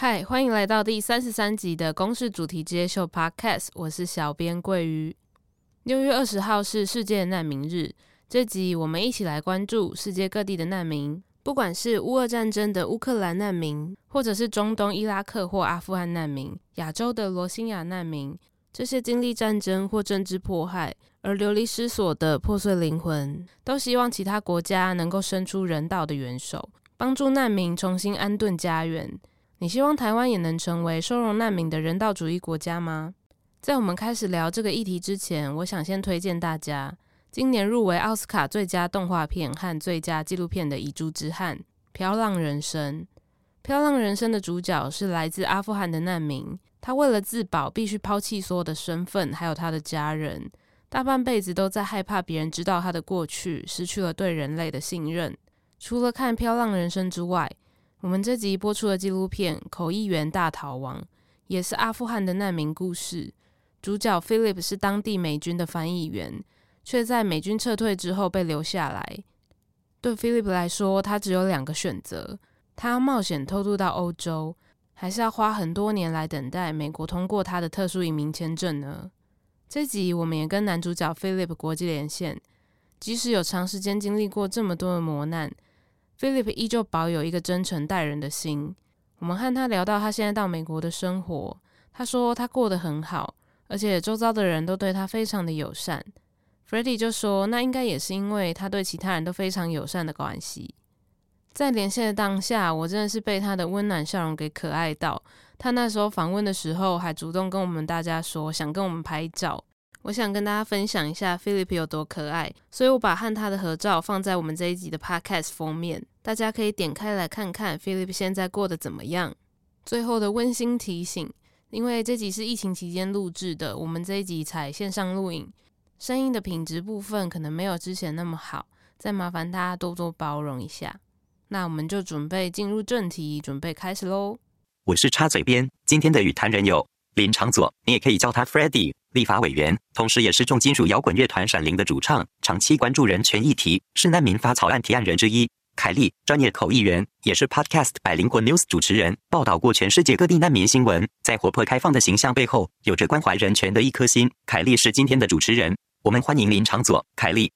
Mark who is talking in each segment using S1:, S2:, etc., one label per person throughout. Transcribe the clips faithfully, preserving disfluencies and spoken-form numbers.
S1: 嗨，歡迎來到第三十三集的公視主題之夜秀 Podcast， 我是小編桂魚。六月二十號是世界難民日，這集我們一起來關注世界各地的難民，不管是烏俄戰爭的烏克蘭難民，或者是中東伊拉克或阿富汗難民，亞洲的羅興亞難民，這些經歷戰爭或政治迫害而流離失所的破碎靈魂，都希望其他國家能夠伸出人道的援手，幫助難民重新安頓家園。你希望台灣也能成為收容難民的人道主義國家嗎？在我們開始聊這個議題之前，我想先推薦大家今年入圍奧斯卡最佳動畫片和最佳紀錄片的《遺珠之憾》《飄浪人生》。《飄浪人生》的主角是來自阿富汗的難民，他為了自保必須拋棄所有的身份，還有他的家人，大半輩子都在害怕別人知道他的過去，失去了對人類的信任。除了看《飄浪人生》之外，我們這集播出的紀錄片《口譯員大逃亡》也是阿富汗的難民故事。主角 Philip 是當地美軍的翻譯員，卻在美軍撤退之後被留下來。對 Philip 來說，他只有兩個選擇：他要冒險偷渡到歐洲，還是要花很多年來等待美國通過他的特殊移民簽證呢？這集我們也跟男主角 Philip 國際連線，即使有長時間經歷過這麼多的磨難，Philip 依舊保有一個真誠待人的心。我們和他聊到他現在到美國的生活，他說他過得很好，而且周遭的人都對他非常的友善。Freddie 就說那應該也是因為他對其他人都非常友善的關係。在連線的當下，我真的是被他的溫暖笑容給可愛到。他那時候訪問的時候還主動跟我們大家說想跟我們拍照。我想跟大家分享一下 Philip 有多可愛，所以我把和他的合照放在我們這一集的 Podcast 封面，大家可以點開來看看 Philip 現在過得怎麼樣。最後的溫馨提醒，因為這集是疫情期間錄製的，我們這一集採線上錄影，聲音的品質部分可能沒有之前那麼好，再麻煩大家多多包容一下。那我們就準備進入正題，準備開始咯。
S2: 我是插嘴邊，今天的與談人有林長佐，你也可以叫他 Freddie， 立法委員，同時也是重金屬搖滾樂團閃靈的主唱，長期關注人權議題，是難民法草案提案人之一。凱莉，專業口譯員，也是 Podcast 百靈果 News 主持人，報道過全世界各地難民新聞，在活潑開放的形象背後，有着關懷人權的一顆心。凱莉是今天的主持人，我們歡迎林長佐，凱莉。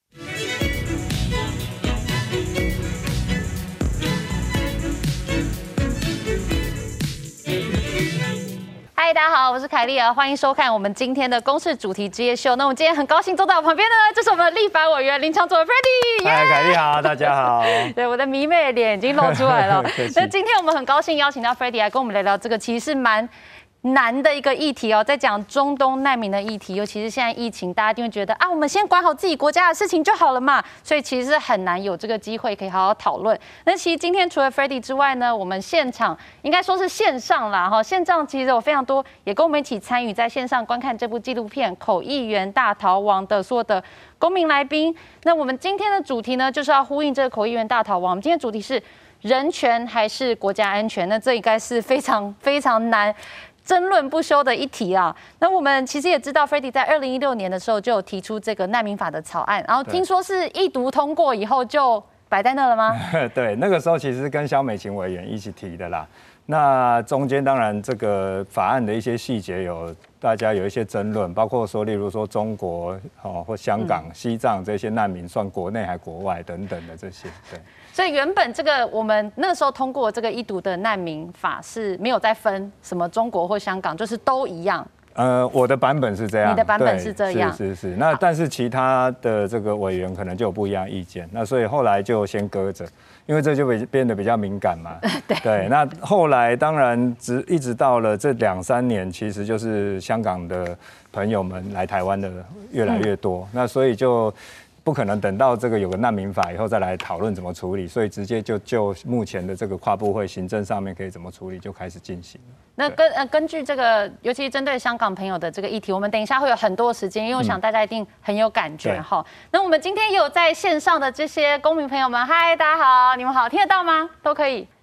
S3: 嗨，大家好，我是凱莉兒，歡迎收看我們今天的公視主題之夜秀。那我們今天很高興坐在我旁邊的呢，就是我們的立法委員林長佐 Freddie。
S4: 嗨，凱莉好，大家好。對，
S3: 我的迷妹臉已經露出來了。那今天我們很高興邀請到 Freddie 來跟我們聊聊這個，其實是蠻難的一個議題哦，在講中東難民的議題，尤其是現在疫情，大家一定會覺得啊，我們先管好自己國家的事情就好了嘛，所以其實是很難有這個機會可以好好討論。那其實今天除了 Freddie 之外呢，我們現場應該說是線上啦哈，線上其實有非常多也跟我們一起參與在線上觀看這部紀錄片《口譯員大逃亡》的所有的公民來賓。那我們今天的主題呢，就是要呼應這個口譯員大逃亡。我們今天的主題是人權還是國家安全？那這應該是非常非常難爭論不休的一題啊。那我們其實也知道 Freddie 在二零一六年的時候就有提出這個難民法的草案，然後聽說是一讀通過以後就擺在那了嗎？
S4: 對，那個時候其實是跟蕭美琴委員一起提的啦。那中間當然這個法案的一些細節有大家有一些爭論，包括說例如說中國哦或香港、嗯、西藏這些難民算國內還國外等等的這些，對。
S3: 所以原本這個我們那時候通過這個一讀的難民法是沒有再分什麼中國或香港，就是都一樣。
S4: 呃，我的版本是這樣，
S3: 你的版本是這樣，
S4: 是是是。那但是其他的這個委員可能就有不一樣意見，那所以後來就先擱着，因為這就變得比較敏感嘛。對對。那後來當然直一直到了這兩三年，其實就是香港的朋友們來台灣的越來越多，嗯、那所以就不可能等到這個有個難民法以後再來討論怎麼處理，所以直接就就目前的這個跨部會行政上面可以怎麼處理就開始進行了。
S3: 那根呃根據這個，尤其是針對香港朋友的這個議題，我們等一下會有很多時間，因為我想大家一定很有感覺哈、嗯。那我們今天也有在線上的這些公民朋友們，嗨，大家好，你們好，聽得到嗎？都可以。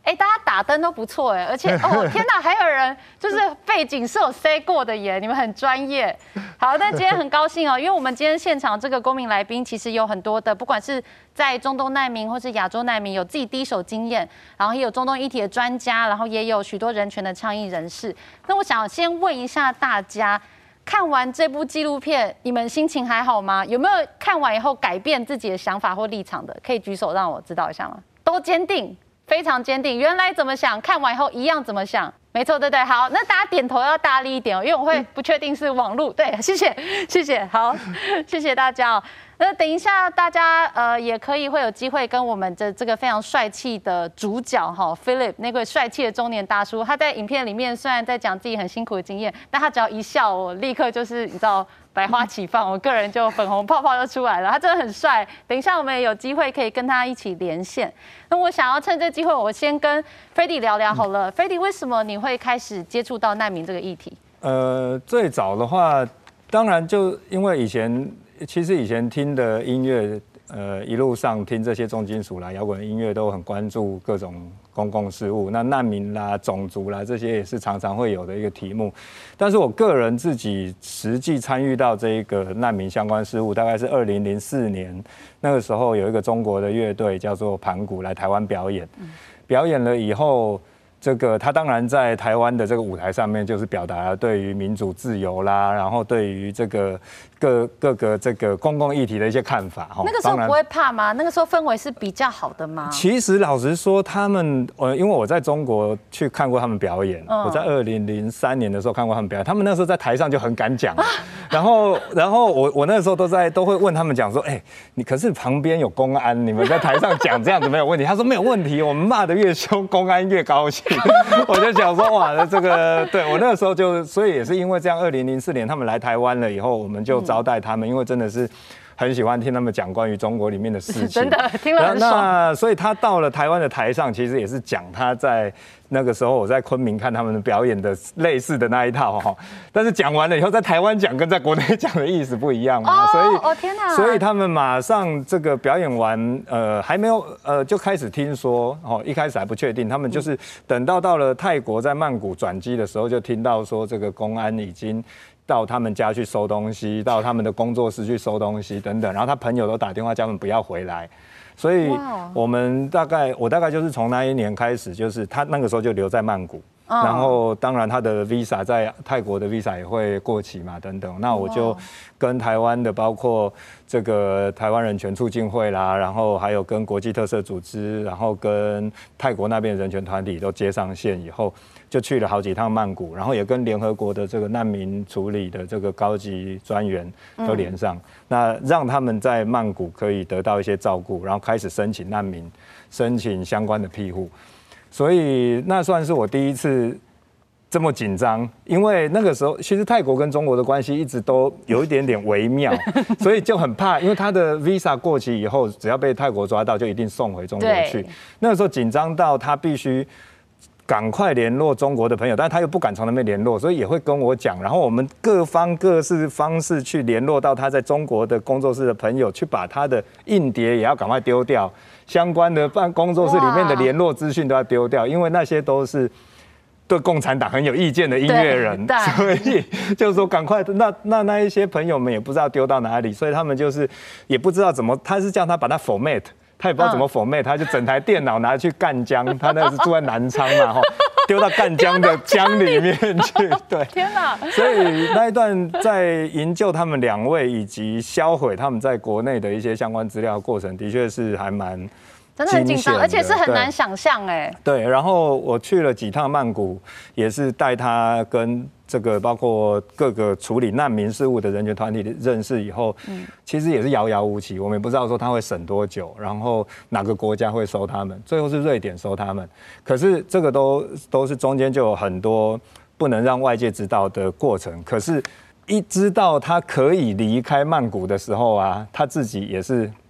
S3: 哎，大家打燈都不錯哎，而且哦天哪，還有人就是背景是有 say 過的耶，你們很專業。好，那今天很高興哦，因為我們今天現場這個公民來賓其實有很多的，不管是在中東難民或是亞洲難民，有自己第一手經驗，然後也有中東議題的專家，然後也有許多人權的倡議人士。那我想先問一下大家，看完這部紀錄片，你們心情還好嗎？有沒有看完以後改變自己的想法或立場的？可以舉手讓我知道一下嗎？都堅定。非常堅定，原來怎麼想，看完以後一樣怎麼想，沒錯，對對，好，那大家點頭要大力一點哦，因為我會不確定是網路，對，謝謝，謝謝，好，謝謝大家哦。那等一下大家呃也可以會有機會跟我們的這個非常帥氣的主角哈 Philip 那個帥氣的中年大叔，他在影片裡面雖然在講自己很辛苦的經驗，但他只要一笑，我立刻就是你知道。百花齊放，我個人就粉紅泡泡就出來了。他真的很帥，等一下我們也有機會可以跟他一起連線。那我想要趁這機會，我先跟 Freddy 聊聊好了。嗯、Freddy， 為什麼你會開始接觸到難民這個議題？呃，
S4: 最早的話，當然就因為以前其實以前聽的音樂，呃，一路上聽這些重金屬啦、搖滾音樂，都很關注各種公共事務。那難民啦、種族啦，這些也是常常會有的一個題目。但是我個人自己實際參與到這一個難民相關事務，大概是二零零四年那個時候，有一個中國的樂隊叫做盤古來台灣表演，表演了以後。這個他當然在台灣的這個舞台上面，就是表達了對於民主自由啦，然後對於這個各各個這個公共議題的一些看法哈。那個時候不會怕嗎？那個時候氛圍是比較好的嗎？其實老實說，他們呃，因為我在中國去看過他們表演，嗯、我在二零零三年的時候看過他們表演，他們那時候在台上就很敢講，啊、然後然後我我那個時候都在都會問他們講說，哎、欸，你可是旁邊有公安，你們在台上講這樣子沒有問題？他說沒有問題，我們罵得越兇，公安越高興。我就想說，哇，這個對我那個時候就，所以也是因為這樣，二零零四年他們來台灣了以後，我們就招待他們，因為真的是很喜歡聽他們講關於中國裡面的事情，真的聽了很爽。那所以他到了台灣的台上，其實也是講他在那個時候我在昆明看他們的表演的類似的那一套哈，但是講完了以後，在台灣講跟在國內講的意思不一樣嘛，所以哦天哪，所以他們馬上這個表演完，呃，還沒有呃就開始聽說哦，一開始還不確定，他們就是等到到了泰國在曼谷轉機的時候，就聽到說這個公安已經到他們家去收東西，到他們的工作室去收東西等等，然後他朋友都打電話叫他們不要回來。所以，我們大概我大概就是從那一年開始，就是他那個時候就留在曼谷，然後當然他的 visa 在泰國的 visa 也會過期嘛，等等。那我就跟台灣的包括這個台灣人權促進會啦，然後還有跟國際特赦組織，然後跟泰國那邊的人權團體都接上線以後，就去了好幾趟曼谷，然後也跟聯合國的這個難民處理的這個高級專員都連上，嗯、那讓他們在曼谷可以得到一些照顧，然後開始申請難民，申請相關的庇護。所以那算是我第一次這麼緊張，因為那個時候其實泰國跟中國的關係一直都有一點點微妙，所以就很怕，因為他的 visa 過期以後，只要被泰國抓到，就一定送回中國去。那個時候緊張到他必須趕快聯絡中國的朋友，但是他又不敢從那邊聯絡，所以也會跟我講，然後我們各方各式方式去聯絡到他在中國的工作室的朋友，去把他的硬碟也要趕快丟掉，相關的辦工作室裡面的聯絡資訊都要丟掉，因為那些都是對共產黨很有意見的音樂人，所以就是說趕快，那那那一些朋友們也不知道丟到哪裡，所以他們就是也不知道怎麼，他是叫他把它 format。他也不知道怎麼 format，他就整台電腦拿去贛江，他那是住在南昌嘛，哈，丟到贛江的江裡面去，對，天哪！所以那一段在營救他們兩位以及銷毀他們在國內的一些相關資料的過程，的確是還蠻真的很緊張，而且是很難想象哎。對，然後我去了幾趟曼谷，也是帶他跟這個包括各個處理難民事務的人權團體認識以後，嗯，其實也是遙遙無期，我們也不知道說他會審多久，然後哪個國家會收他們，最後是瑞典收他們，可是這個都都是中間就有很多不能讓外界知道的過程，可是一知道他可以離開曼谷的時候啊，他自己也是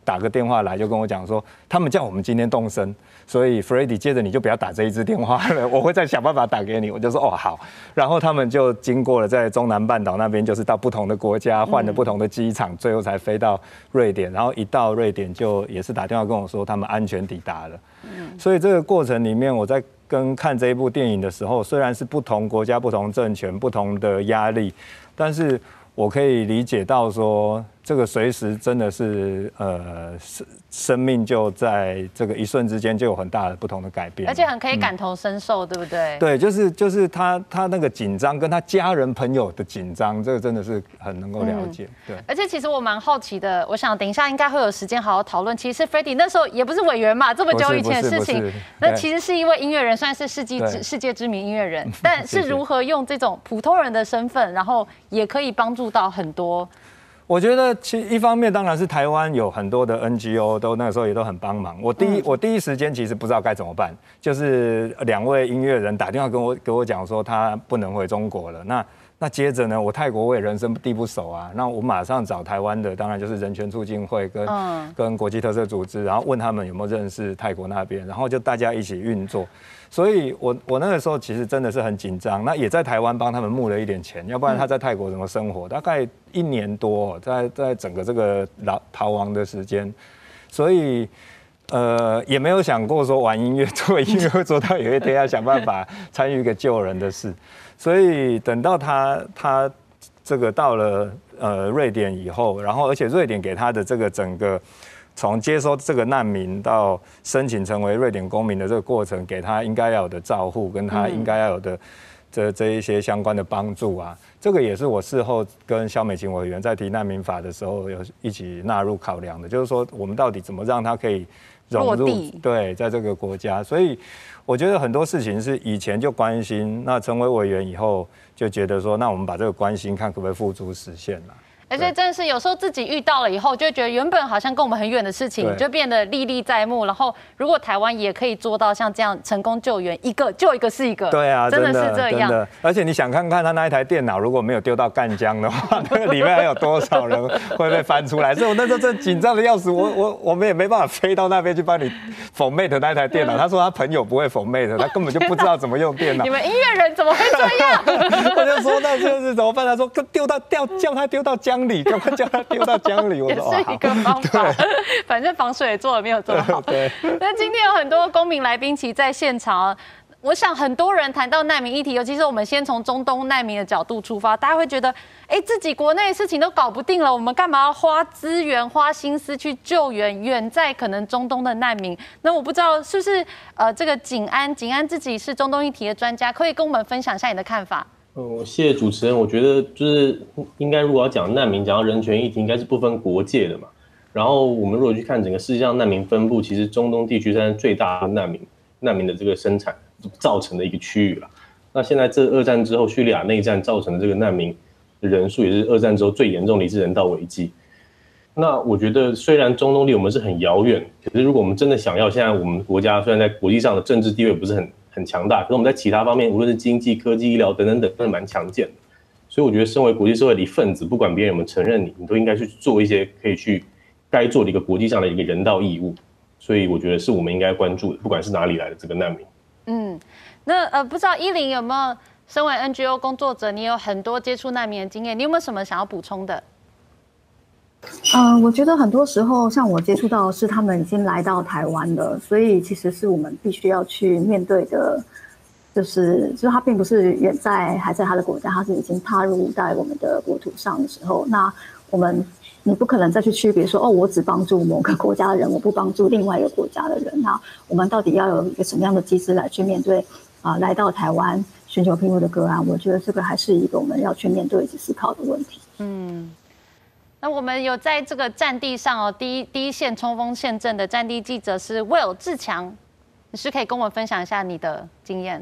S4: 打個電話來，就跟我講說，他們叫我們今天動身，所以 Freddy 接着你就不要打這一支電話了，我會再想辦法打給你。我就說哦好，然後他們就經過了在中南半島那邊，就是到不同的國家換了不同的機場，嗯、最後才飛到瑞典。然後一到瑞典就也是打電話跟我說他們安全抵達了。嗯、所以這個過程裡面，我在跟看這一部電影的時候，雖然是不同國家、不同政權、不同的壓力，但是我可以理解到說，這個隨時真的是呃，生命就在這個一瞬之間就有很大的不同的改變，
S3: 而且很可以感同身受，嗯、對不對？
S4: 對，就是就是他他那個緊張，跟他家人朋友的緊張，這個真的是很能夠了解。嗯、對，
S3: 而且其實我蠻好奇的，我想等一下應該會有時間好好討論。其實 Freddy 那時候也不是委員嘛，這麼久以前的事情，那其實是一位音樂人，算是世紀世界知名音樂人，但是如何用這種普通人的身份，然後也可以幫助到很多。
S4: 我覺得，其一方面當然是台灣有很多的 N G O 都那個時候也都很幫忙。我第一我第一時間其實不知道該怎麼辦，就是兩位音樂人打電話跟我跟我講說他不能回中國了。那那接着呢，我泰國我也人生地不熟啊，那我馬上找台灣的，當然就是人權促進會跟跟國際特色組織，然後問他們有沒有認識泰國那邊，然後就大家一起運作。所以我我那個時候其實真的是很緊張，那也在台灣幫他們募了一點錢，要不然他在泰國怎麼生活？大概一年多，在在整個這個逃逃亡的時間，所以呃也沒有想過說玩音樂做音樂會做到有一天要想辦法參與一個救人的事，所以等到他他這個到了呃瑞典以後，然後而且瑞典給他的這個整個。從接收這個難民到申請成為瑞典公民的這個過程，給他應該要有的照護，跟他應該要有的這這一些相關的幫助啊，這個也是我事後跟蕭美琴委員在提難民法的時候有一起納入考量的，就是說我們到底怎麼讓他可以融入，對，在這個國家。所以我覺得很多事情是以前就關心，那成為委員以後就覺得說，那我們把這個關心看可不可以付諸實現了。
S3: 而且真的是有時候自己遇到了以後，就會覺得原本好像跟我們很遠的事情，就變得歷歷在目。然後如果台灣也可以做到像這樣成功救援，一個救一個是一個，對啊，真的是這樣。真的，
S4: 而且你想看看他那一台電腦如果沒有丟到贛江的話，那個裡面還有多少人會被翻出來？所以我那時候真緊張的要死，我我我們也沒辦法飛到那邊去幫你 format 那一台電腦。他說他朋友不會 format，他根本就不知道怎麼用電腦。
S3: 你們音樂人怎麼會這樣？
S4: 我就說那這是怎麼辦？他說丟到掉叫他丟到江裡，趕快叫他丟到江裡。我說
S3: 也是一個方法，反正防水也做的沒有這麼好。對。那今天有很多公民來賓其實在現場，我想很多人談到難民議題，尤其是我們先從中東難民的角度出發，大家會覺得，哎，自己國內的事情都搞不定了，我們幹嘛要花資源、花心思去救援遠在可能中東的難民？那我不知道是不是呃，這個景安，景安自己是中東議題的專家，可以跟我們分享一下你的看法。
S5: 嗯，謝謝主持人。我覺得就是應該，如果要講難民，講到人權議題，應該是不分國界的嘛。然後我們如果去看整個世界上難民分布，其實中東地區算是最大的難民難民的這個生產造成的一個區域了。那現在這二戰之後，敘利亞內戰造成的這個難民的人數，也是二戰之後最嚴重的一次人道危機。那我覺得，雖然中東離我們是很遙遠，可是如果我們真的想要，現在我們國家雖然在國際上的政治地位不是很很強大，可是我們在其他方面，無論是經濟、科技、醫療等等等，都是蠻強健的。所以我覺得，身為國際社會的一份子，不管別人有沒有承認你，你都應該去做一些可以去該做的一個國際上的一個人道義務。所以我覺得是我們應該關注的，不管是哪裡來的這個難民。
S3: 嗯，那呃，不知道依林有沒有身為 N G O 工作者，你有很多接觸難民的經驗，你有沒有什麼想要補充的？
S6: 呃，我覺得很多時候，像我接觸到的是他們已經來到台灣了，所以其實是我們必須要去面對的，就是就是他並不是遠在還在他的國家，他是已經踏入在我們的國土上的時候，那我們你不可能再去區別說，哦，我只幫助某個國家的人，我不幫助另外一個國家的人。那我們到底要有一個什麼樣的機制來去面對啊、呃，來到台灣尋求庇護的個案？我覺得這個還是一個我們要去面對以及思考的問題。嗯。
S3: 那我們有在這個戰地上哦，第一第一線衝鋒陷陣的戰地記者是 Will 志強，你是可以跟我們分享一下你的經驗。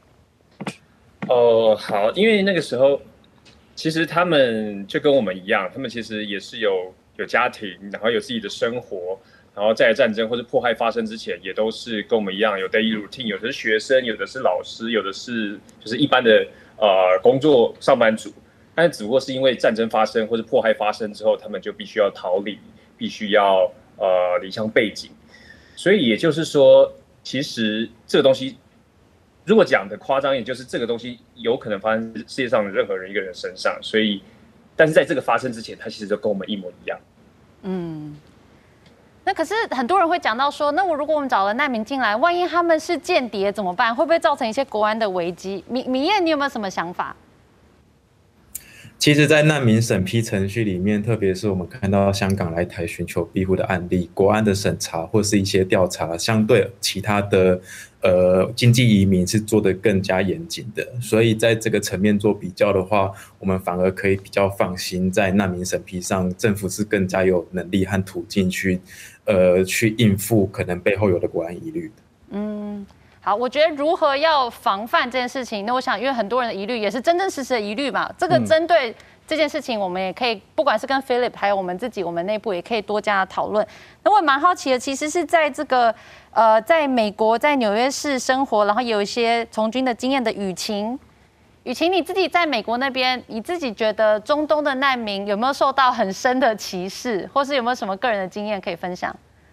S7: 哦，好，因為那個時候其實他們就跟我們一樣，他們其實也是有有家庭，然後有自己的生活，然後在戰爭或是迫害發生之前，也都是跟我們一樣有 daily routine，有的是學生，有的是老師，有的是就是一般的呃工作上班族。但只不過是因為戰爭發生或是迫害發生之後，他們就必須要逃離，必須要呃離鄉背景，所以也就是說，其實這個東西如果講的誇張一點，就是這個東西有可能發生世界上的任何人一個人身上，所以但是在這個發生之前，它其實就跟我們一模一樣。嗯。
S3: 那可是很多人會講到說，那我如果我們找了難民進來，萬一他們是間諜怎麼辦？會不會造成一些國安的危機？米米晏，你有沒有什麼想法？
S8: 其實，在難民審批程序裡面，特別是我們看到香港來台尋求庇護的案例，國安的審查或是一些調查，相對其他的呃經濟移民是做得更加嚴謹的。所以在這個層面做比較的話，我們反而可以比較放心，在難民審批上，政府是更加有能力和途徑去呃去應付可能背後有的國安疑慮的。嗯。
S3: 好，我覺得如何要防範這件事情，那我想，因為很多人的疑慮也是真真實實的疑慮嘛。這個針對這件事情，我們也可以，不管是跟 Philip 還有我們自己，我們內部也可以多加討論。那我也蠻好奇的，其實是在這個呃，在美國，在紐約市生活，然後也有一些從軍的經驗的雨晴。雨晴，你自己在美國那邊，你自己覺得中東的難民有沒有受到很深的歧視，或是有沒有什麼個人的經驗可以分享？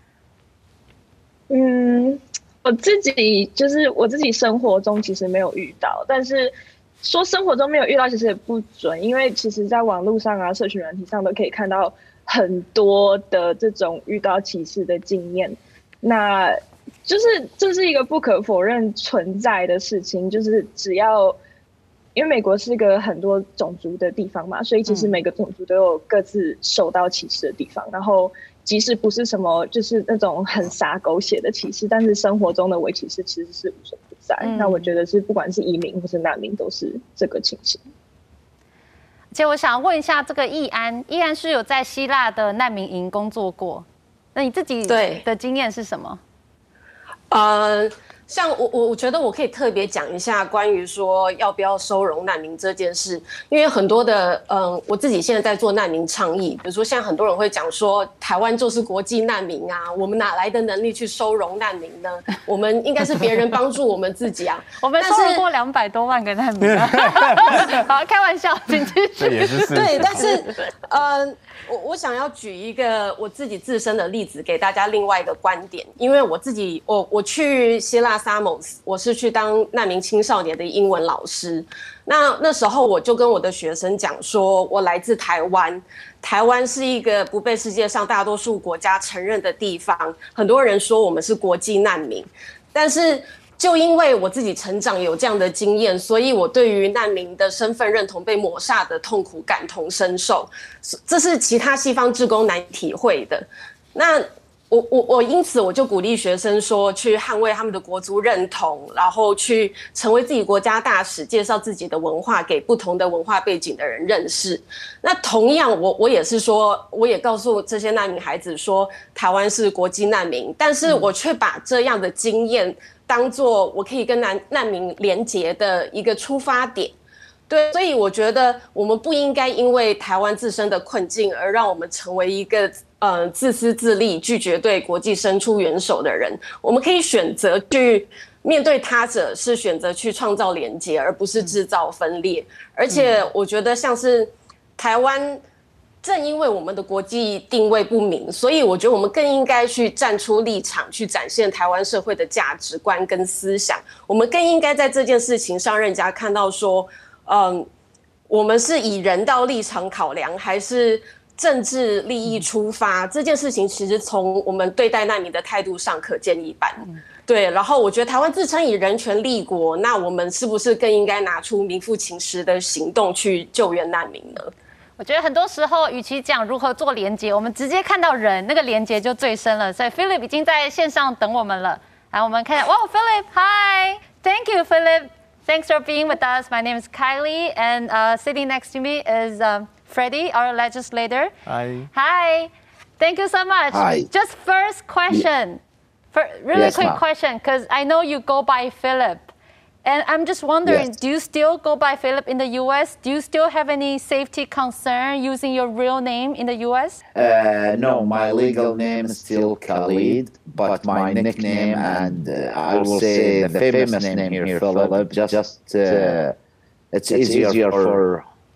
S9: 嗯。我自己就是我自己生活中其實沒有遇到，但是說生活中沒有遇到其實也不準，因為其實在網絡上啊、社群軟體上都可以看到很多的這種遇到歧視的經驗。那就是這是一個不可否認存在的事情，就是只要因為美國是個很多種族的地方嘛，所以其實每個種族都有各自受到歧視的地方，然後即使不是什麼就是那種很灑狗血的歧視，但是生活中的微歧視其實是無所不在。嗯、那我覺得是不管是移民或是難民都是這個情形。
S3: 而且我想問一下，這個易安，易安是有在希臘的難民營工作過，那你自己的經驗是什麼？
S10: 呃。像我我我覺得我可以特別講一下關於說要不要收容難民這件事，因為很多的嗯，我自己現在在做難民倡議，比如說像很多人會講說台灣就是國際難民啊，我們哪來的能力去收容難民呢？我們應該是別人幫助我們自己啊。
S3: 我們收容過兩百多萬個難民啊。好，開玩笑，請繼續。這也是事實。
S10: 對，但是呃。我我想要舉一個我自己自身的例子給大家另外一個觀點，因為我自己我我去希臘薩摩斯，我是去當難民青少年的英文老師。那那時候我就跟我的學生講說，我來自台灣，台灣是一個不被世界上大多數國家承認的地方，很多人說我們是國際難民，但是就因為我自己成長有這樣的經驗，所以我對於難民的身份認同被抹煞的痛苦感同身受，這是其他西方志工難以體會的。那我我我因此我就鼓勵學生說，去捍衛他們的國族認同，然後去成為自己國家大使，介紹自己的文化給不同的文化背景的人認識。那同樣我，我我也是說，我也告訴這些難民孩子說，台灣是國際難民，但是我卻把這樣的經驗當作我可以跟難難民連結的一個出發點。對，所以我覺得我們不應該因為台灣自身的困境而讓我們成為一個呃自私自利、拒絕對國際伸出援手的人。我們可以選擇去面對他者，是選擇去創造連結，而不是制造分裂。而且我覺得像是台灣，正因為我們的國際定位不明，所以我覺得我們更應該去站出立場，去展現台灣社會的價值觀跟思想。我們更應該在這件事情上，讓人家看到說，嗯，我們是以人道立場考量，還是政治利益出發？這件事情其實從我們對待難民的態度上可見一斑。對，然後我覺得台灣自稱以人權立國，那我們是不是更應該拿出名副其實的行動去救援難民呢？
S3: 我覺得很多時候，與其講如何做連結，我們直接看到人，那個連結就最深了。所以 Philip 已經在線上等我們了。來，我們看，哇 ，Philip，Hi，Thank you, Philip。Thanks for being with us. My name is Kylie, and uh, sitting next to me is um, Freddie, our legislator.
S11: Hi.
S3: Hi. Thank you so much.
S11: Hi.
S3: Just first question, for, really
S11: yes,
S3: quick question, because I know you go by Philip. And I'm just wondering, yes. do you still go by Philip in the U S? Do you still have any safety concern using your real name in the U S?
S11: Uh, no, my legal name is still Khalid, but my nickname and uh, I will say the famous name here, Philip, just, just uh, it's, it's easier for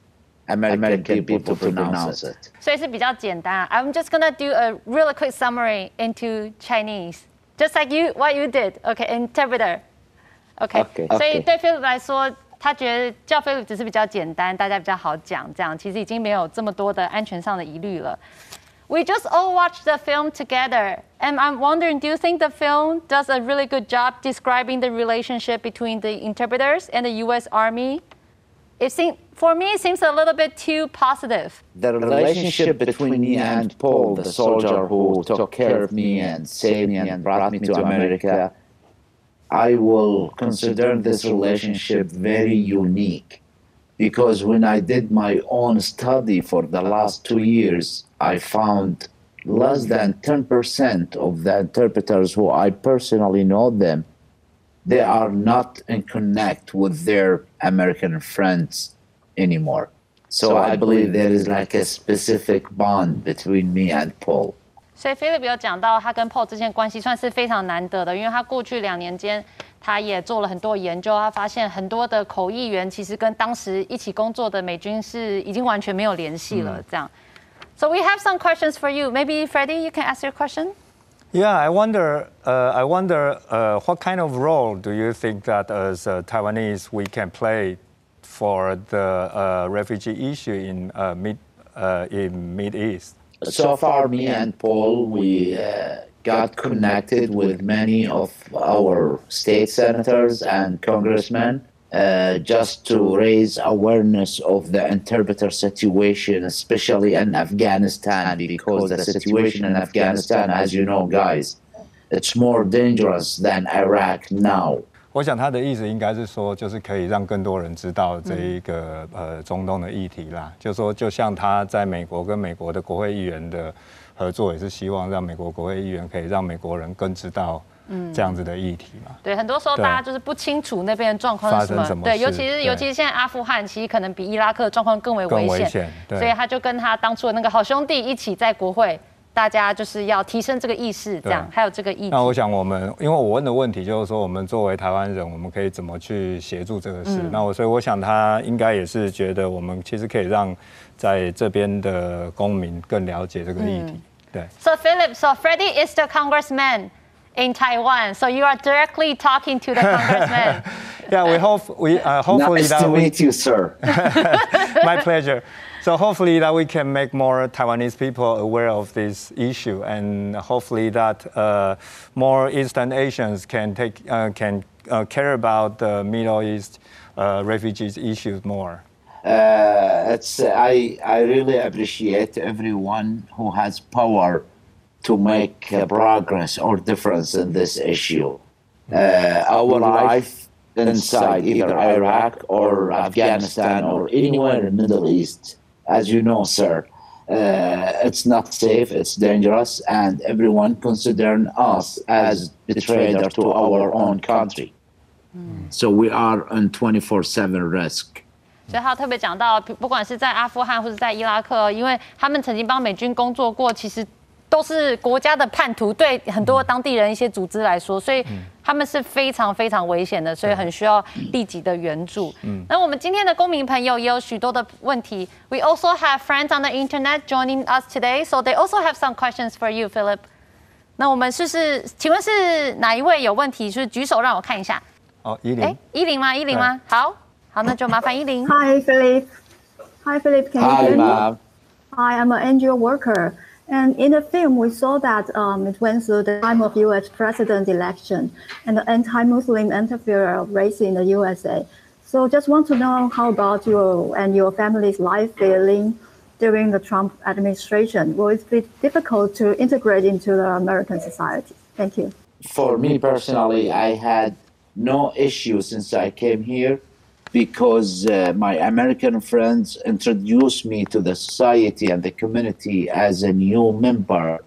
S11: American people to pronounce it.
S3: 所以是比较简单。I'm just gonna do a really quick summary into Chinese, just like you what you did. Okay, interpreter. Okay.
S11: Okay.
S3: 所以对 Philip 来说，他觉得叫 Philip 只是比较簡单，大家比较好講，這樣其實已經沒有這麼多的安全上的疑慮了。We just all watched the film together, and I'm wondering, do you think the film does a really good job describing the relationship between the interpreters and the U S Army? It seems, for me, it seems a little bit too positive.
S11: The relationship between me and Paul, the soldier who took care of me and saved me and brought me to America, I will consider this relationship very unique. Because when I did my own study for the last two years, I found less than ten percent of the interpreters who I personally know them, they are not in connect with their American friends anymore. So I believe there is like a specific bond between me and Paul.
S3: 所以 Philip 有講到他跟 Paul 之間關係算是非常難得的，因為他過去兩年間他也做了很多研究，他發現很多的口譯員其實跟當時一起工作的美軍是已經完全沒有聯繫了。這樣 So we have some questions for you. Maybe Freddie, you can ask your question.
S4: Yeah, I wonder. Uh, I wonder uh, what kind of role do you think that as uh, Taiwanese we can play for the uh, refugee issue in uh, mid uh, in Mid East?
S11: So far, me and Paul, we uh, got connected with many of our state senators and congressmen uh, just to raise awareness of the interpreter situation, especially in Afghanistan, because the situation in Afghanistan, as you know, guys, it's more dangerous than Iraq now.
S4: 我想他的意思应该是说，就是可以让更多人知道这一个、嗯、呃中東的議題啦。就說，就像他在美國跟美國的國會議員的合作，也是希望讓美國國會議員可以讓美國人更知道這樣子的議題嘛。
S3: 對，很多時候大家就是不清楚那邊的狀況是什麼。什麼對，尤其是尤其是現在阿富汗，其實可能比伊拉克的狀況更為危險。更危險。所以他就跟他當初的那個好兄弟一起在國會。大家就是要提升這個意識，這樣還有這個意識。
S4: 那我想我們，因為我問的問題就是說，我們作為台灣人，我們可以怎麼去協助這個事？嗯、那我所以我想他應該也是覺得我們其實可以讓在這邊的公民更了解這個議題。嗯、對。
S3: So Philip, so Freddie is the congressman in Taiwan. So you are directly talking to the congressman.
S4: Yeah, we hope we uh, hopefully
S11: nice
S4: that
S11: to
S4: we...
S11: meet you, sir.
S4: My pleasure. So hopefully that we can make more Taiwanese people aware of this issue, and hopefully that uh, more Eastern Asians can take uh, can uh, care about the Middle East uh, refugees issues more.
S11: Uh, it's I I really appreciate everyone who has power to make uh, progress or difference in this issue. Uh, our life inside either Iraq or Afghanistan or anywhere in the Middle East. As you know, sir, uh, it's not safe, it's dangerous, and everyone considering us as betrayer to our own country. Mm. So we are on twenty-four seven risk.
S3: 所以他特別講到，不管是在阿富汗或者在伊拉克，因為他們曾經幫美軍工作過，其實都是國家的叛徒，對很多當地人一些組織來說，所以他們是非常非常危險的，所以很需要立即的援助。嗯，那我們今天的公民朋友也有許多的問題。We also have friends on the internet joining us today, so they also have some questions for you, Philip. 那我們是是，請問是哪一位有問題？就是舉手讓我看一下。
S4: 哦，依林。哎，
S3: 依林嗎？依林嗎？好，好，那就麻煩依林。
S6: Hi, Philip. Hi, Philip. Can you hear me?
S11: Hi,
S6: Hi, I'm an N G O worker. And in the film, we saw that um, it went through the time of U S president election and the anti-Muslim interference race in the U S A. So just want to know how about you and your family's life feeling during the Trump administration? Will it be difficult to integrate into the American society? Thank you.
S11: For me personally, I had no issue since I came here, because uh, my American friends introduced me to the society and the community as a new member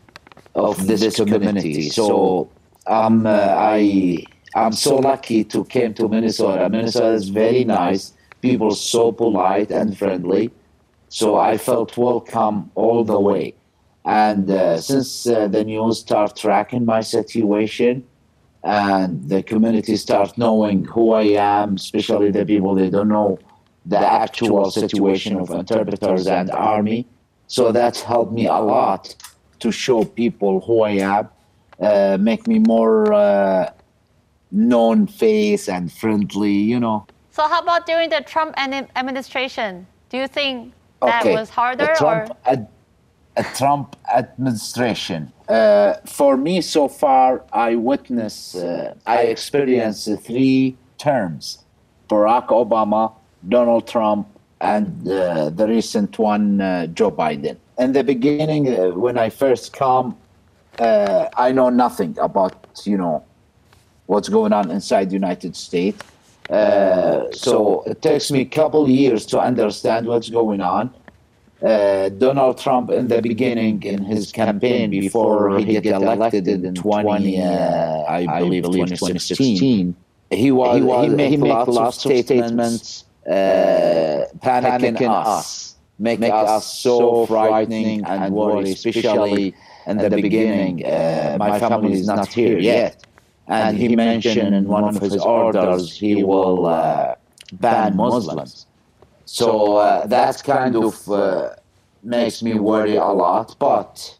S11: of this, this community. So um, uh, I, I'm so lucky to came to Minnesota. Minnesota is very nice. People so polite and friendly. So I felt welcome all the way. And uh, since uh, the news start tracking my situation, and the community start knowing who I am, especially the people they don't know the actual situation of interpreters and army. So that helped me a lot to show people who I am, uh, make me more uh, known face and friendly, you know.
S3: So how about during the Trump administration? Do you think that
S11: okay.
S3: was harder?
S11: A Trump,
S3: or?
S11: Ad, a Trump administration. Uh, for me, so far, I witnessed, uh, I experienced three terms: Barack Obama, Donald Trump, and uh, the recent one, uh, Joe Biden. In the beginning, uh, when I first come, uh, I know nothing about, you know, what's going on inside the United States. Uh, so it takes me a couple years to understand what's going on. Uh, Donald Trump, in the beginning, in his campaign before he get elected in twenty, uh, I believe twenty sixteen, he was he, was, he made, he made lots, lots of statements, uh, panicking, panicking us, make, make us so frightening and worried, especially in the beginning. Uh, my family is not here yet. And he mentioned in one of his orders he will uh, ban Muslims. So uh, that kind of uh, makes me worry a lot. But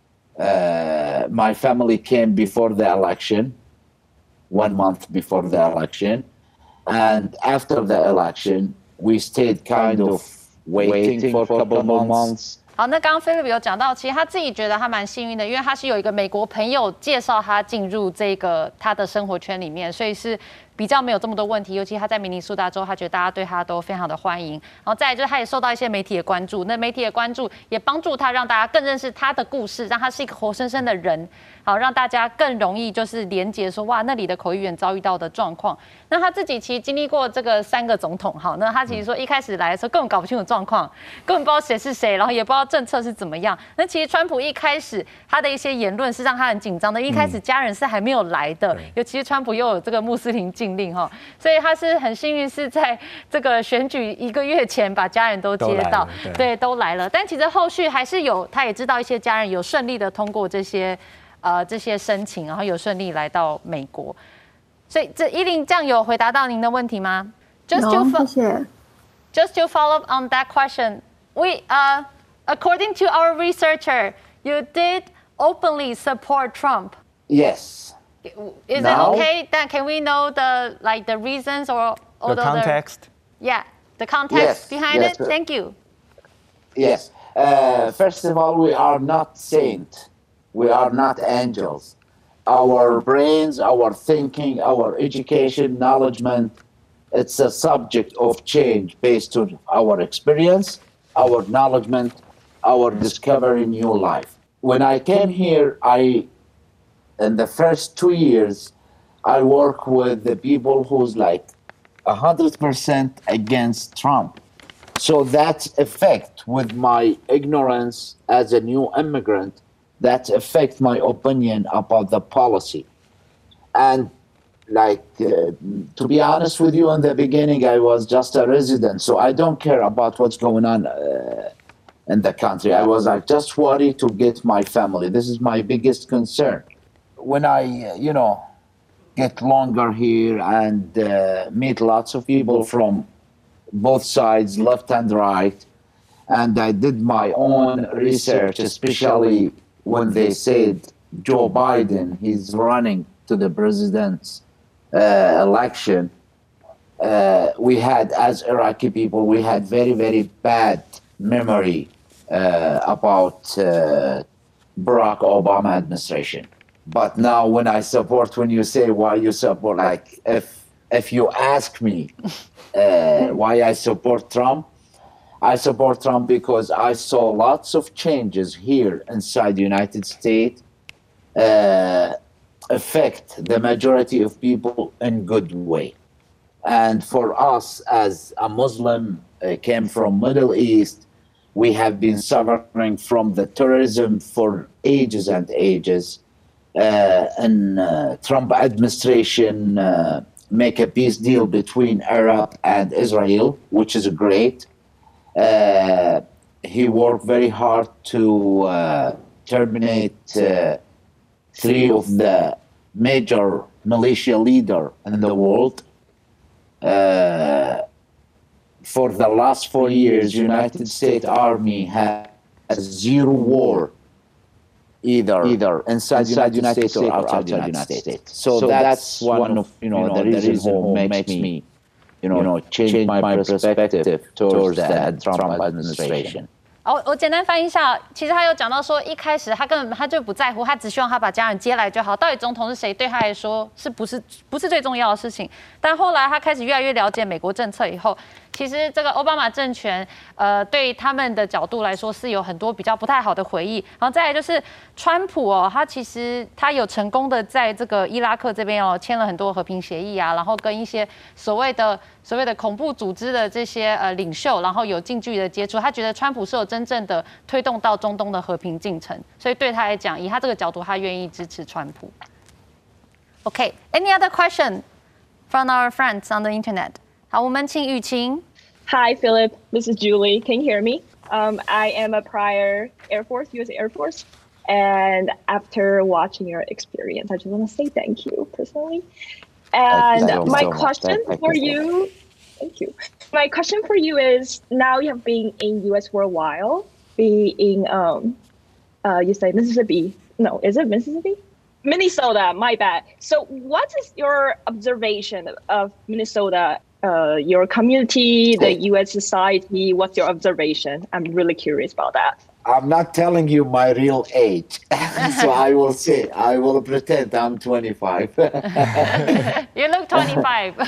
S11: uh, my family came before the election, one month before the election. And after the election, we stayed kind of waiting for a couple of months.
S3: 好，那刚刚 Philip 有講到，其實他自己覺得他蠻幸運的，因為他是有一個美國朋友介紹他進入這個他的生活圈裡面，所以是比較沒有這麼多問題。尤其他在明尼蘇達州，他覺得大家對他都非常的歡迎。然後再來就是他也受到一些媒體的關注，那媒體的關注也幫助他讓大家更認識他的故事，讓他是一個活生生的人，好讓大家更容易就是連結說哇那裡的口譯員遭遇到的狀況。那他自己其實經歷過這個三個總統，好，那他其實說一開始來的時候根本搞不清楚狀況，根本不知道誰是誰，然後也不知道政策是怎麼樣。那其實川普一開始他的一些言論是讓他很緊張的，一開始家人是還沒有來的，嗯、尤其是川普又有這個穆斯林禁令哈，所以他是很幸運是在這個選舉一個月前把家人都接到，對，對，都來了。但其實後續還是有，他也知道一些家人有順利的通過這些呃這些申請，然後有順利來到美國。所以這依琳這樣有回答到您的問題嗎 ？Just to
S6: no, 謝謝
S3: Just to follow up on that question, we uh. According to our researcher, you did openly support Trump.
S11: Yes.
S3: Is now, it okay? Then can we know the like the reasons or, or
S4: the, the context?
S3: Yeah, the context
S11: yes,
S3: behind
S11: yes,
S3: it. Thank you.
S11: Yes. Uh, first of all, we are not saints. We are not angels. Our brains, our thinking, our education, knowledgement, it's a subject of change based on our experience, our knowledgement, our discovering new life. When I came here, I, in the first two years, I work with the people who's like one hundred percent against Trump. So that effect with my ignorance as a new immigrant, that affect my opinion about the policy. And like, uh, to be honest with you, in the beginning, I was just a resident, so I don't care about what's going on uh, in the country. I was like, just worried to get my family. This is my biggest concern. When I, you know, get longer here and uh, meet lots of people from both sides, left and right, and I did my own research, especially when they said Joe Biden, he's running to the president's uh, election. Uh, we had, as Iraqi people, we had very, very bad memory uh, about uh, Barack Obama administration. But now when I support, when you say why you support, like if if you ask me uh, why I support Trump, I support Trump because I saw lots of changes here inside the United States uh, affect the majority of people in good way. And for us as a Muslim, uh, came from Middle East, we have been suffering from the terrorism for ages and ages. Uh, and uh, Trump administration uh, make a peace deal between Arab and Israel, which is great. Uh, he worked very hard to uh, terminate uh, three of the major militia leaders in the world. Uh, for the last four years, United States Army has zero war, either either inside, inside United, United States, States or outside United, United States. States. So, so that's one of you know, you know the reason who makes me you know, you know change, change my perspective towards the Trump, Trump administration.
S3: 哦，我簡單翻譯一下，其實他有講到說，一開始他根本他就不在乎，他只希望他把家人接來就好。到底總統是誰，對他來說是不是不是最重要的事情？但後來他開始越來越了解美國政策以後，其實這個奧巴馬政權，呃，對他們的角度來說是有很多比較不太好的回憶。然後再來就是川普哦，他其實他有成功的在這個伊拉克這邊哦簽了很多和平協議啊，然後跟一些所謂的所謂的恐怖組織的這些呃領袖，然後有近距離的接觸。他覺得川普是有真正的推動到中東的和平進程，所以對他來講，以他這個角度，他願意支持川普。Okay, any other question from our friends on the internet? 好，我們請雨晴。
S9: Hi, Philip. This is Julie. Can you hear me? Um, I am a prior Air Force, U S Air Force. And after watching your experience, I just want to say thank you personally. And uh, my so question thank for you, you thank you. My question for you is, now you have been in U S for a while, being, um, uh, you say Mississippi. No, is it Mississippi? Minnesota, my bad. So what is your observation of Minnesota, uh, your community, the U S society? What's your observation? I'm really curious about that.
S11: I'm not telling you my real age, so I will say, I will pretend I'm twenty-five.
S3: You look twenty-five.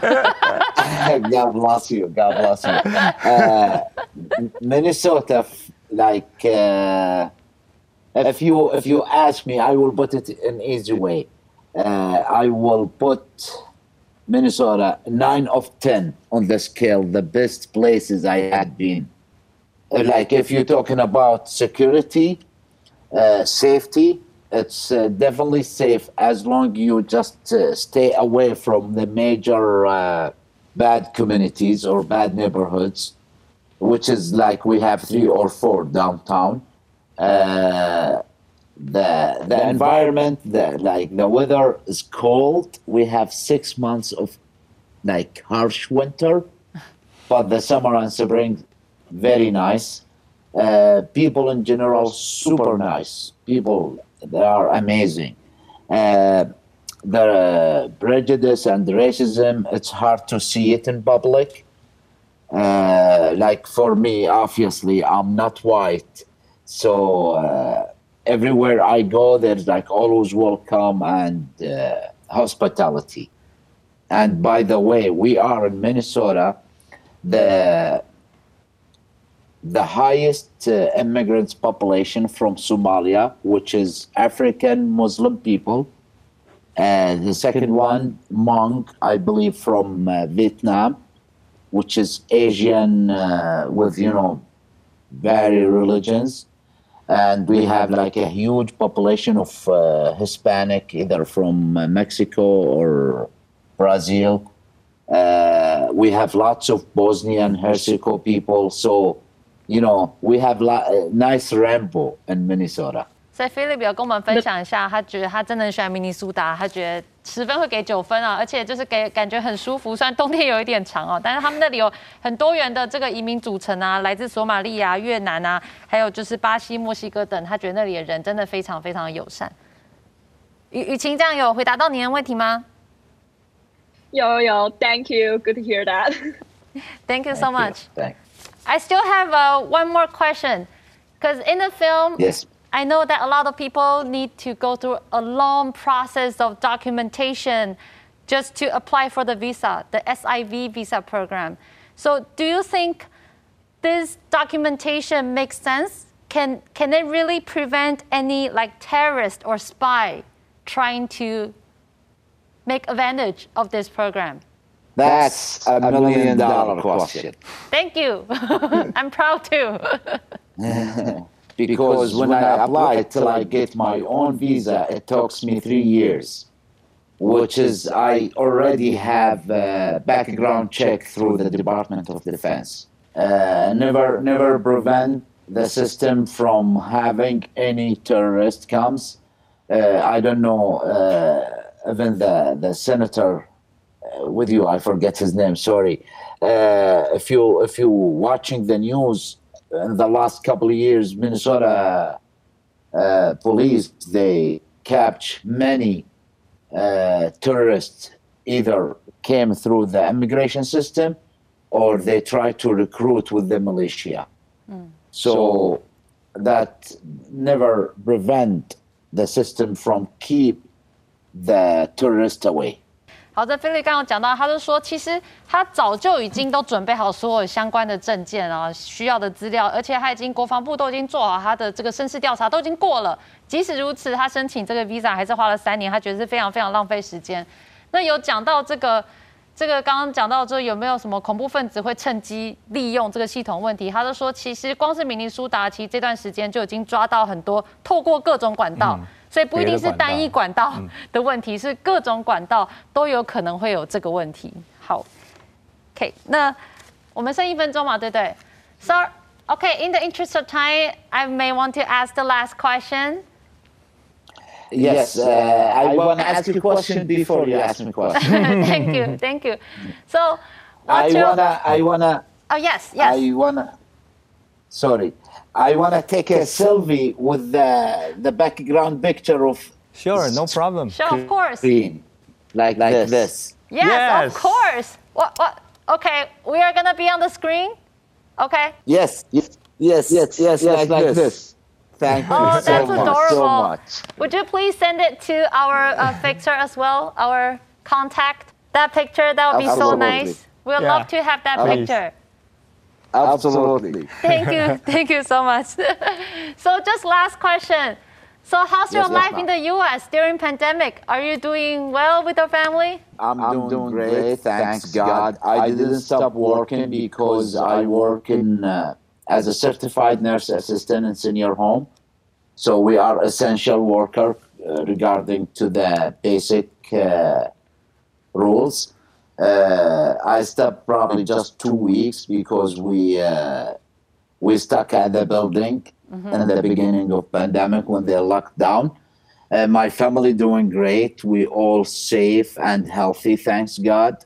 S11: God bless you, God bless you. Uh, Minnesota, like, uh, if you if you ask me, I will put it in easy way. Uh, I will put Minnesota nine of ten on the scale, the best places I had been. Like if you're talking about security, uh, safety, it's uh, definitely safe as long you just uh, stay away from the major uh, bad communities or bad neighborhoods, which is like we have three or four downtown. Uh, the the environment, the like the weather is cold. We have six months of like harsh winter, but the summer and spring very nice. Uh, people in general, super nice. People, they are amazing. Uh, the prejudice and racism, it's hard to see it in public. Uh, like for me, obviously, I'm not white. So uh, everywhere I go, there's like always welcome and uh, hospitality. And by the way, we are in Minnesota, the the highest uh, immigrants population from Somalia, which is African Muslim people. And the second one, Hmong, I believe, from uh, Vietnam, which is Asian uh, with, you know, various religions. And we have like a huge population of uh, Hispanic, either from uh, Mexico or Brazil. Uh, we have lots of Bosnian Herzegovina people. So, you know, we have a nice rainbow in Minnesota.
S3: 所以 Philip 有跟我们分享一下，他觉得他真的很喜歡明尼蘇達，他覺得十分會給九分啊，而且就是給感覺很舒服。雖然冬天有一點長哦，但是他們那裡有很多元的這個移民組成啊，來自索馬利亞、越南啊，還有就是巴西、墨西哥等，他覺得那裡的人真的非常非常的友善。雨雨晴，這樣有回答到你的問題嗎？
S9: 有有 ，Thank you, good to hear that.
S3: Thank you so much.
S11: Thanks.
S3: I still have uh, one more question, because in the film,
S11: yes.
S3: I know that a lot of people need to go through a long process of documentation just to apply for the visa, the S I V visa program. So do you think this documentation makes sense? Can, can it really prevent any like terrorist or spy trying to make advantage of this program?
S11: That's a million dollar question.
S3: Thank you. I'm proud too.
S11: Because when I apply till I get my own visa, it takes me three years, which is I already have a background check through the Department of Defense. Uh, never, never prevent the system from having any terrorist comes. Uh, I don't know, uh, even the, the senator uh, with you. I forget his name. Sorry. Uh, if you if you watching the news in the last couple of years, Minnesota uh, police they captured many uh, terrorists. Either came through the immigration system, or they tried to recruit with the militia. Mm. So that never prevent the system from keep the tourist away.
S3: 好的，菲利刚刚講到，他就說，其實他早就已經都準備好所有相關的證件啊，需要的資料，而且他已經國防部都已經做好他的這個身世調查，都已經過了。即使如此，他申請這個 visa 還是花了三年，他覺得是非常非常浪費時間。那有講到這個，這個剛剛講到這有沒有什麼恐怖分子會趁機利用這個系統問題？他就說，其實光是明尼蘇達，其實這段時間就已經抓到很多透過各種管道。嗯，所以不一定是單一管道的問題，是各種管道都有可能會有這個問題。好 ，OK， 那我們剩一分鐘嘛，對不對 ？So, OK, in the interest of time, I may want to ask the last question.
S11: Yes, uh, I want to ask you a question before you ask me a question.
S3: Thank you, thank you. So,
S11: I
S3: your...
S11: wanna, I wanna.
S3: Oh yes, yes.
S11: I wanna. Sorry. I want to take a selfie with the the background picture of.
S4: Sure, no problem.
S3: Sure, of course.
S11: Screen, like like this. this.
S3: Yes, yes, of course. What what? Okay, we are gonna be on the screen. Okay.
S11: Yes, yes, yes, yes, yes, like, like this. this. Thank you
S3: oh,
S11: so
S3: that's
S11: much,
S3: adorable.
S11: so much.
S3: Would you please send it to our uh, fixer as well, our contact? That picture, that would be
S11: Absolutely.
S3: so nice. We'd yeah. love to have that
S11: Please.
S3: picture.
S11: Absolutely.
S3: Thank you. Thank you so much. So just last question. So how's your yes, life yes, in the U S during pandemic? Are you doing well with your family?
S11: I'm, I'm doing, doing great, great, thanks God. I didn't stop working because I work in uh, as a certified nurse assistant in senior home. So we are essential worker uh, regarding to the basic uh, rules. Uh, I stopped probably just two weeks because we uh, we stuck at the building mm-hmm. in the beginning of pandemic when they locked down. Uh, my family doing great. We all safe and healthy, thanks God.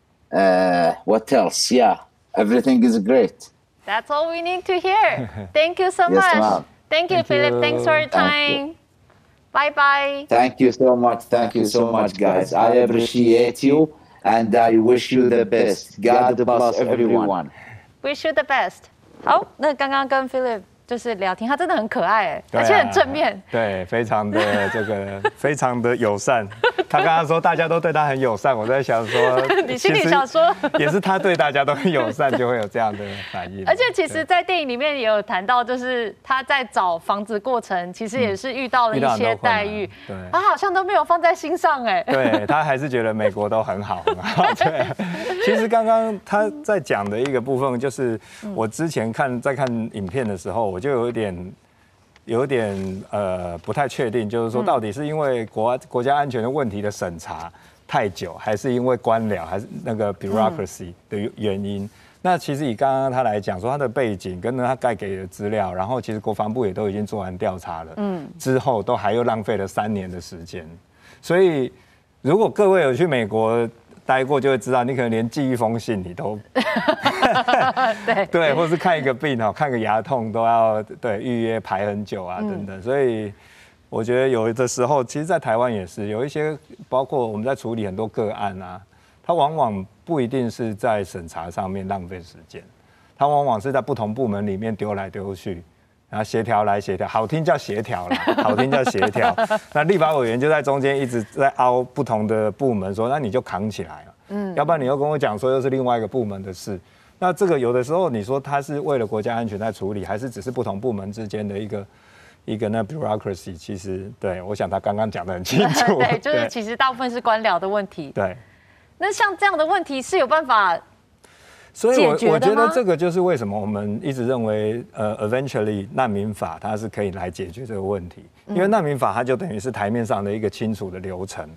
S11: Uh, what else? Yeah, everything is great.
S3: That's all we need to hear. Thank you so yes, much. Thank you, Thank Philip. You. Thanks for your time. Bye bye.
S11: Thank you so much. Thank you so much, guys. I appreciate you. And I wish you the best. God bless everyone.
S3: Wish you the best. 好，那刚刚跟 Philip 就是聊天，他真的很可愛哎，而且很正面。
S4: 对，非常的这个，非常的友善。他刚剛說大家都對他很友善，我在想說，
S3: 你心裡想說，
S4: 也是他對大家都很友善，就會有這樣的反應。
S3: 而且其實，在電影裡面也有談到，就是他在找房子過程，其實也是遇到了一些待遇，對，他好像都沒有放在心上哎。
S4: 對，他還是覺得美國都很好很好。對，其實剛剛他在講的一個部分，就是我之前看在看影片的時候，我就有一點。有點呃不太確定，就是說到底是因為國國家安全的問題的審查太久，還是因為官僚，還是那個 bureaucracy 的原因？嗯、那其實以剛剛他來講，說他的背景跟他該給的資料，然後其實國防部也都已經做完調查了，嗯，之後都還又浪費了三年的時間。所以如果各位有去美國待過，就會知道，你可能連寄一封信你都
S3: 對
S4: 對，或是看一個病哦，看個牙痛都要對預約排很久啊等等，所以我覺得有的時候，其實，在台灣也是有一些，包括我們在處理很多個案啊，它往往不一定是在審查上面浪費時間，它往往是在不同部門裡面丟來丟去。然後協調來協調，好聽叫協調啦，好聽叫協調。那立法委員就在中間一直在凹不同的部門說，那你就扛起來了，嗯，要不然你又跟我講說又是另外一個部門的事。那這個有的時候你說他是為了國家安全在處理，還是只是不同部門之間的一個一個那 bureaucracy？ 其實對，我想他剛剛講得很清楚。
S3: 對，就是其實大部分是官僚的問題。
S4: 對。
S3: 那像這樣的問題是有辦法？
S4: 所以我，我我覺得這個就是為什麼我們一直認為，呃 ，eventually 難民法它是可以來解決這個問題，因為難民法它就等於是台面上的一個清楚的流程，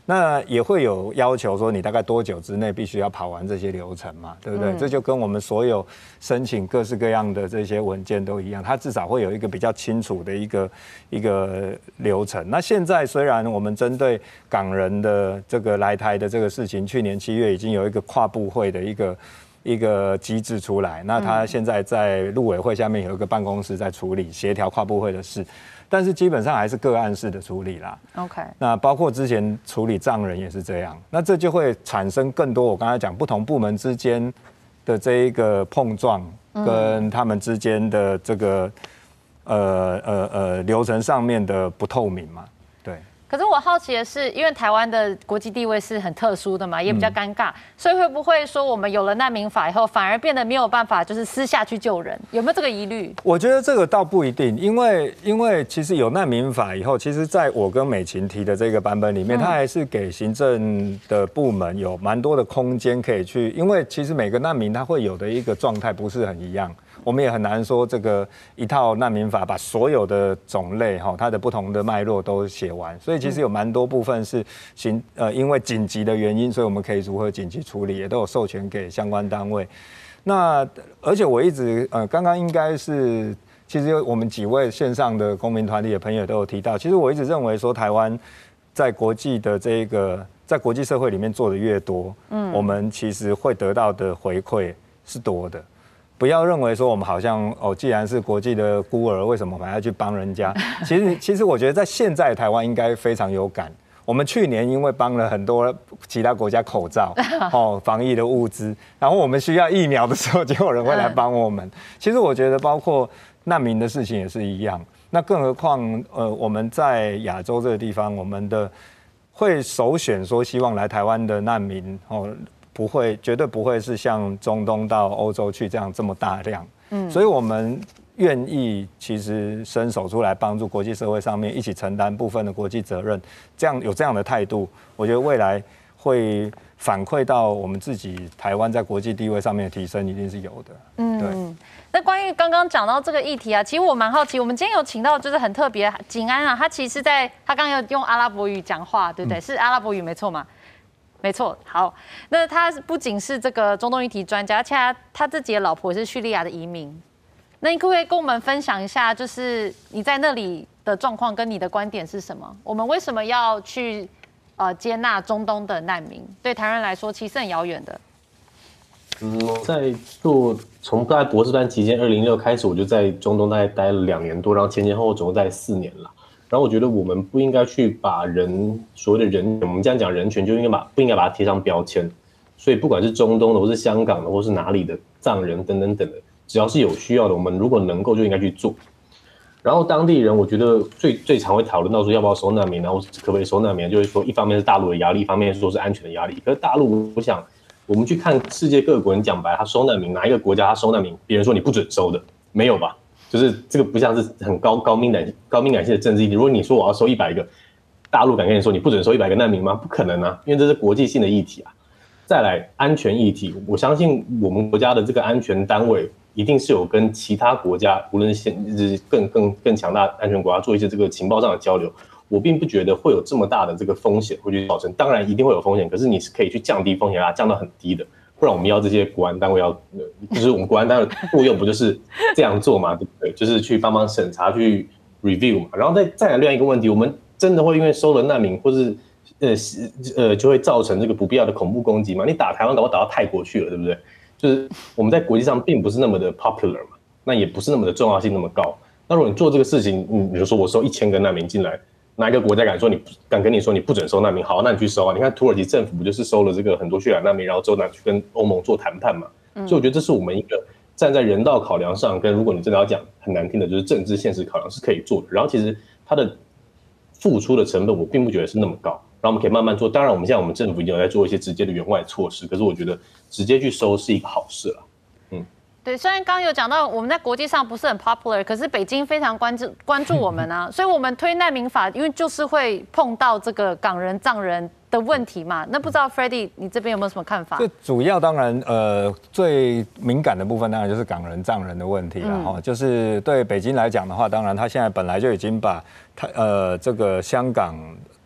S4: 那也會有要求說，你大概多久之內必須要跑完這些流程嘛，對不對？嗯、這就跟我們所有申請各式各樣的這些文件都一樣，它至少會有一個比較清楚的一個一個流程。那現在雖然我們針對港人的這個來台的這個事情，去年七月已經有一個跨部會的一個一個機制出來，那他現在在陸委會下面有一個辦公室在處理協調跨部會的事。但是基本上還是個案式的處理啦。OK， 那包括之前處理藏人也是這樣，那這就會產生更多我剛才講不同部門之間的這一個碰撞，跟他們之間的這個呃呃呃流程上面的不透明嘛。對。
S3: 可是我好奇的是，因為台灣的國際地位是很特殊的嘛，也比較尷尬，嗯、所以會不會說我們有了難民法以後，反而變得沒有辦法，就是私下去救人？有沒有這個疑慮？我覺得這個倒不一定，因為因為其實有難民法以後，其實在我跟美琴提的這個版本裡面，它還是給行政的部門有蠻多的空間可以去，因為其實每個難民他會有的一個狀態不是很一樣。我們也很難說這個一套難民法把所有的種類哈，它的不同的脈絡都寫完，所以其實有蠻多部分是行呃因為緊急的原因，所以我們可以如何緊急處理，也都有授權給相關單位。那而且我一直呃剛剛應該是其實我們幾位線上的公民團體的朋友都有提到，其實我一直認為說台灣在國際的這個在國際社會裡面做的越多，嗯，我們其實會得到的回饋是多的。不要認為說我們好像哦，既然是國際的孤兒，為什麼我們還要去幫人家？其實，其實我覺得在現在台灣應該非常有感。我們去年因為幫了很多其他國家口罩、哦防疫的物資，然後我們需要疫苗的時候，就有人會來幫我們。其實我覺得包括難民的事情也是一樣。那更何況呃，我們在亞洲這個地方，我們的會首選說希望來台灣的難民哦。不會，絕對不會是像中東到歐洲去這樣這麼大量，嗯，所以我們願意其實伸手出來幫助國際社會上面一起承擔部分的國際責任，這樣有這樣的態度，我覺得未來會反饋到我們自己台灣在國際地位上面的提升，一定是有的。嗯，對。那關於剛剛講到這個議題啊，其實我蠻好奇，我們今天有請到就是很特別，景安啊，他其實在他剛剛有用阿拉伯語講話，對不對？嗯、是阿拉伯語沒錯嗎？沒錯，好，那他不僅是這個中東議題專家，而且他他自己的老婆也是敘利亞的移民。那你可不可以跟我們分享一下，就是你在那裡的狀況跟你的觀點是什麼？我們為什麼要去呃接納中東的難民？對台灣人來說，其實很遙遠的。
S5: 嗯，在做從大概博士班期間，二零一六開始，我就在中東大概待了兩年多，然後前前後後總共待四年了。然後我覺得我們不應該去把人所謂的人，我們這樣講人權就應該把不應該把它貼上標籤。所以不管是中東的，或是香港的，或是哪裡的藏人等等等的，只要是有需要的，我們如果能夠就應該去做。然後當地人，我覺得最最常會討論到說要不要收難民，然後可不可以收難民，就是說一方面是大陸的壓力，一方面是說是安全的壓力。可是大陸，我想我們去看世界各國人講白，他收難民，哪一個國家他收難民，別人說你不准收的，沒有吧？就是這個不像是很高高敏感高敏感性的政治議題。如果你說我要收一百個，大陸敢跟你說你不准收一百個難民嗎？不可能啊，因為這是國際性的議題啊。再來安全議題，我相信我們國家的這個安全單位一定是有跟其他國家，無論是更更更強大安全國家做一些這個情報上的交流。我並不覺得會有這麼大的這個風險會去造成，當然一定會有風險，可是你是可以去降低風險，把它降到很低的。不然我們要這些國安單位要，就是我們國安單位的作用不就是這樣做嘛，對不對？就是去幫忙審查、去 review 嘛。然後再再來另外一個問題，我們真的會因為收了難民，或是呃呃就會造成這個不必要的恐怖攻擊嘛？你打台灣，搞不好打到泰國去了，對不對？就是我們在國際上並不是那麼的 popular 嘛，那也不是那麼的重要性那麼高。那如果你做這個事情，嗯，比如說我收一千個難民進來。哪一個國家敢說你敢跟你說你不准收難民？好，那你去收啊！你看土耳其政府不就是收了這個很多敘利亞難民，然後之後拿去跟歐盟做談判嘛？嗯、所以我覺得這是我們一個站在人道考量上，跟如果你真的要講很難聽的，就是政治現實考量是可以做的。然後其實它的付出的成本我並不覺得是那麼高，然後我們可以慢慢做。當然我們現在我們政府已經有在做一些直接的援外措施，可是我覺得直接去收是一個好事了。嗯。
S3: 對，雖然剛剛有講到我們在國際上不是很 popular， 可是北京非常關注關注我們啊，所以我們推難民法，因為就是會碰到這個港人、藏人的問題嘛。那不知道 Freddy 你這邊有沒有什麼看法？最
S4: 主要當然呃最敏感的部分當然就是港人、藏人的問題了哈。嗯、就是對北京來講的話，當然他現在本來就已經把他呃這個香港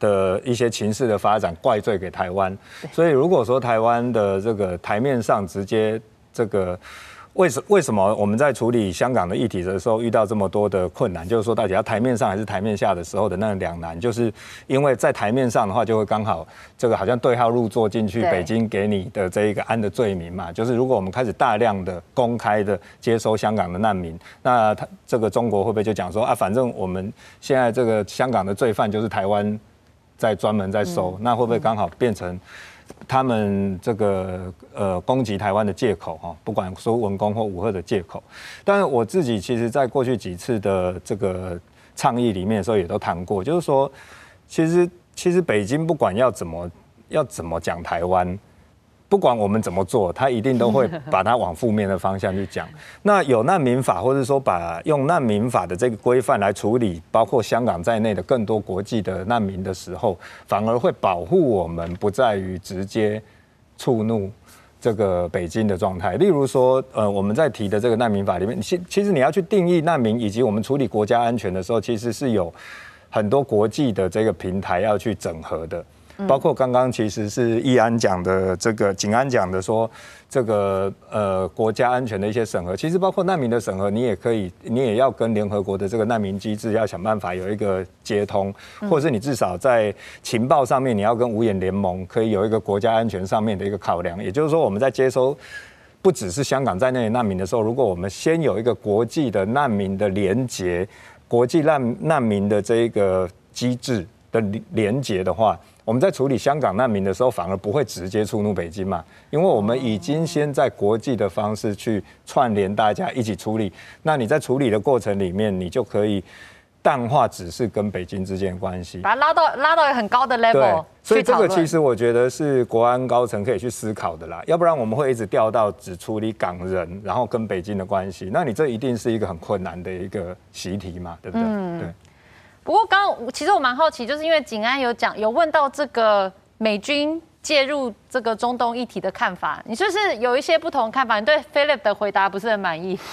S4: 的一些情勢的發展怪罪給台灣。所以如果說台灣的這個台面上直接這個。為什為什麼我們在處理香港的議題的時候遇到這麼多的困難？就是說，到底要台面上還是台面下的時候的那兩難，就是因為在台面上的話，就會剛好這個好像對號入座進去北京給你的這一個安的罪名嘛。就是如果我們開始大量的公開的接收香港的難民，那他這個中國會不會就講說啊，反正我們現在這個香港的罪犯就是台灣在專門在收，那會不會剛好變成？他們這個呃攻擊台灣的借口哈，不管說文攻或武嚇的借口，但是我自己其實在過去幾次的這個倡議裡面的時候也都談過，就是說，其實其實北京不管要怎麼要怎麼講台灣。不管我們怎麼做，他一定都會把它往負面的方向去講。那有難民法，或者說把用難民法的這個規範來處理，包括香港在內的更多國際的難民的時候，反而會保護我們不在於直接觸怒這個北京的狀態。例如說，呃，我們在提的這個難民法裡面，其其實你要去定義難民，以及我們處理國家安全的時候，其實是有很多國際的這個平台要去整合的。包括剛剛其實是易安講的這個景安講的說，這個呃國家安全的一些審核，其實包括難民的審核，你也可以，你也要跟聯合國的這個難民機制要想辦法有一個接通，或者是你至少在情報上面，你要跟五眼聯盟可以有一個國家安全上面的一個考量。也就是說，我們在接收不只是香港在內的難民的時候，如果我們先有一個國際的難民的連結，國際難難民的這一個機制的連結的話，我們在處理香港難民的時候，反而不會直接觸怒北京嘛，因為我們已經先在國際的方式去串聯大家一起處理。那你在處理的過程裡面，你就可以淡化只是跟北京之間的關係，
S3: 把它拉到拉到很高的 level。對，
S4: 所以這個其實我覺得是國安高層可以去思考的啦，要不然我們會一直掉到只處理港人，然後跟北京的關係，那你這一定是一個很困難的一個習題嘛，對不對？嗯、對。
S3: 不過剛剛其實我蠻好奇，就是因為景安有講有問到這個美軍介入這個中東議題的看法，你是不是有一些不同看法？你對 Philip 的回答不是很滿意？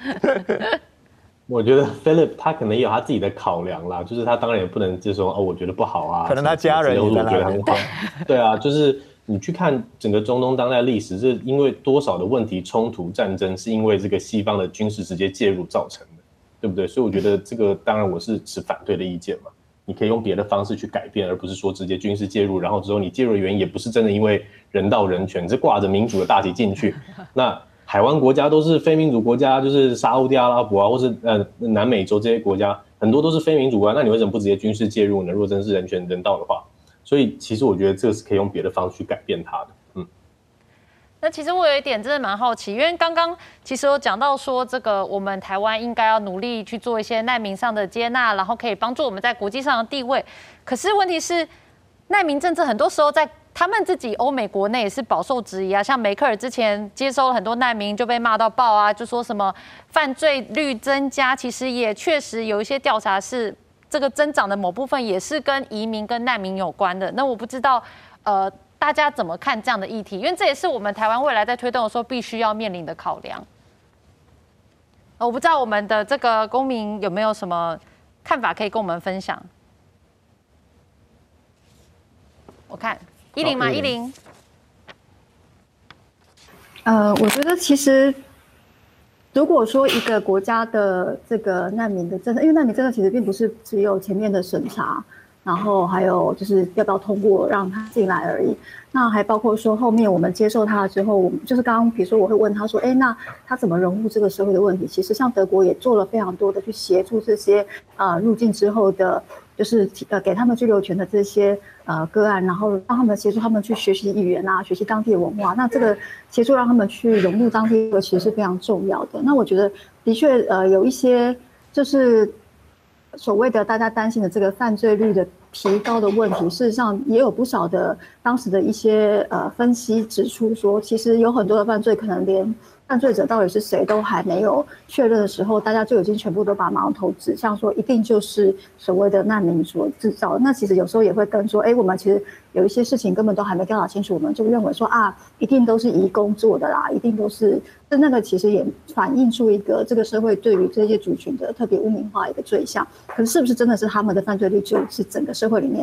S5: 我覺得 Philip 他可能也有他自己的考量啦，就是他當然也不能就說哦，我覺得不好啊，
S4: 可能他家人也在那邊。
S5: 我覺得很好。對啊，就是你去看整個中東當代歷史，是因為多少的問題、衝突、戰爭，是因為這個西方的軍事直接介入造成的。對不對？所以我覺得這個當然我是持反對的意見嘛。你可以用別的方式去改變，而不是說直接軍事介入，然後之後你介入的原因也不是真的因為人道人權，是掛着民主的大旗進去。那海灣國家都是非民主國家，就是沙烏地阿拉伯啊，或是呃南美洲這些國家，很多都是非民主國家。那你為什麼不直接軍事介入呢？如果真是人權人道的話，所以其實我覺得這個是可以用別的方式去改變它的。嗯。
S3: 那其實我有一點真的蠻好奇，因為剛剛其實有講到說，這個我們台灣應該要努力去做一些難民上的接納，然後可以幫助我們在國際上的地位。可是問題是，難民政策很多時候在他們自己歐美國內也是飽受質疑啊。像梅克爾之前接收了很多難民就被罵到爆啊，就說什麼犯罪率增加，其實也確實有一些調查是這個增長的某部分也是跟移民跟難民有關的。那我不知道，呃。大家怎麼看這樣的議題？因為這也是我們台灣未來在推動的時候必須要面臨的考量。我不知道我們的這個公民有沒有什麼看法可以跟我們分享？我看依林嗎？依林。
S6: 呃，我覺得其實如果說一個國家的這個難民的政策，因為難民政策其實並不是只有前面的審查。然後還有就是要不要通過讓他進來而已，那還包括說後面我們接受他了之後，我們就是剛剛比如說我會問他說，哎，那他怎麼融入這個社會的問題？其實像德國也做了非常多的去協助這些呃入境之後的，就是呃給他們居留權的這些呃個案，然後讓他們協助他們去學習語言啊，學習當地的文化。那這個協助讓他們去融入當地，其實是非常重要的。那我覺得的確呃有一些就是。所謂的大家擔心的這個犯罪率的提高的問題，事實上也有不少的當時的一些呃分析指出說，其實有很多的犯罪可能連犯罪者到底是誰都還沒有確認的時候，大家就已經全部都把矛頭指向說一定就是所謂的難民所製造的。那其實有時候也會跟說，哎，我們其實有一些事情根本都還沒調查清楚，我們就認為說啊，一定都是移工做的啦，一定都是。那那個其實也反映出一個這個社會對於這些族群的特別污名化一個對象。可是是不是真的是他們的犯罪率就是整個社會裡面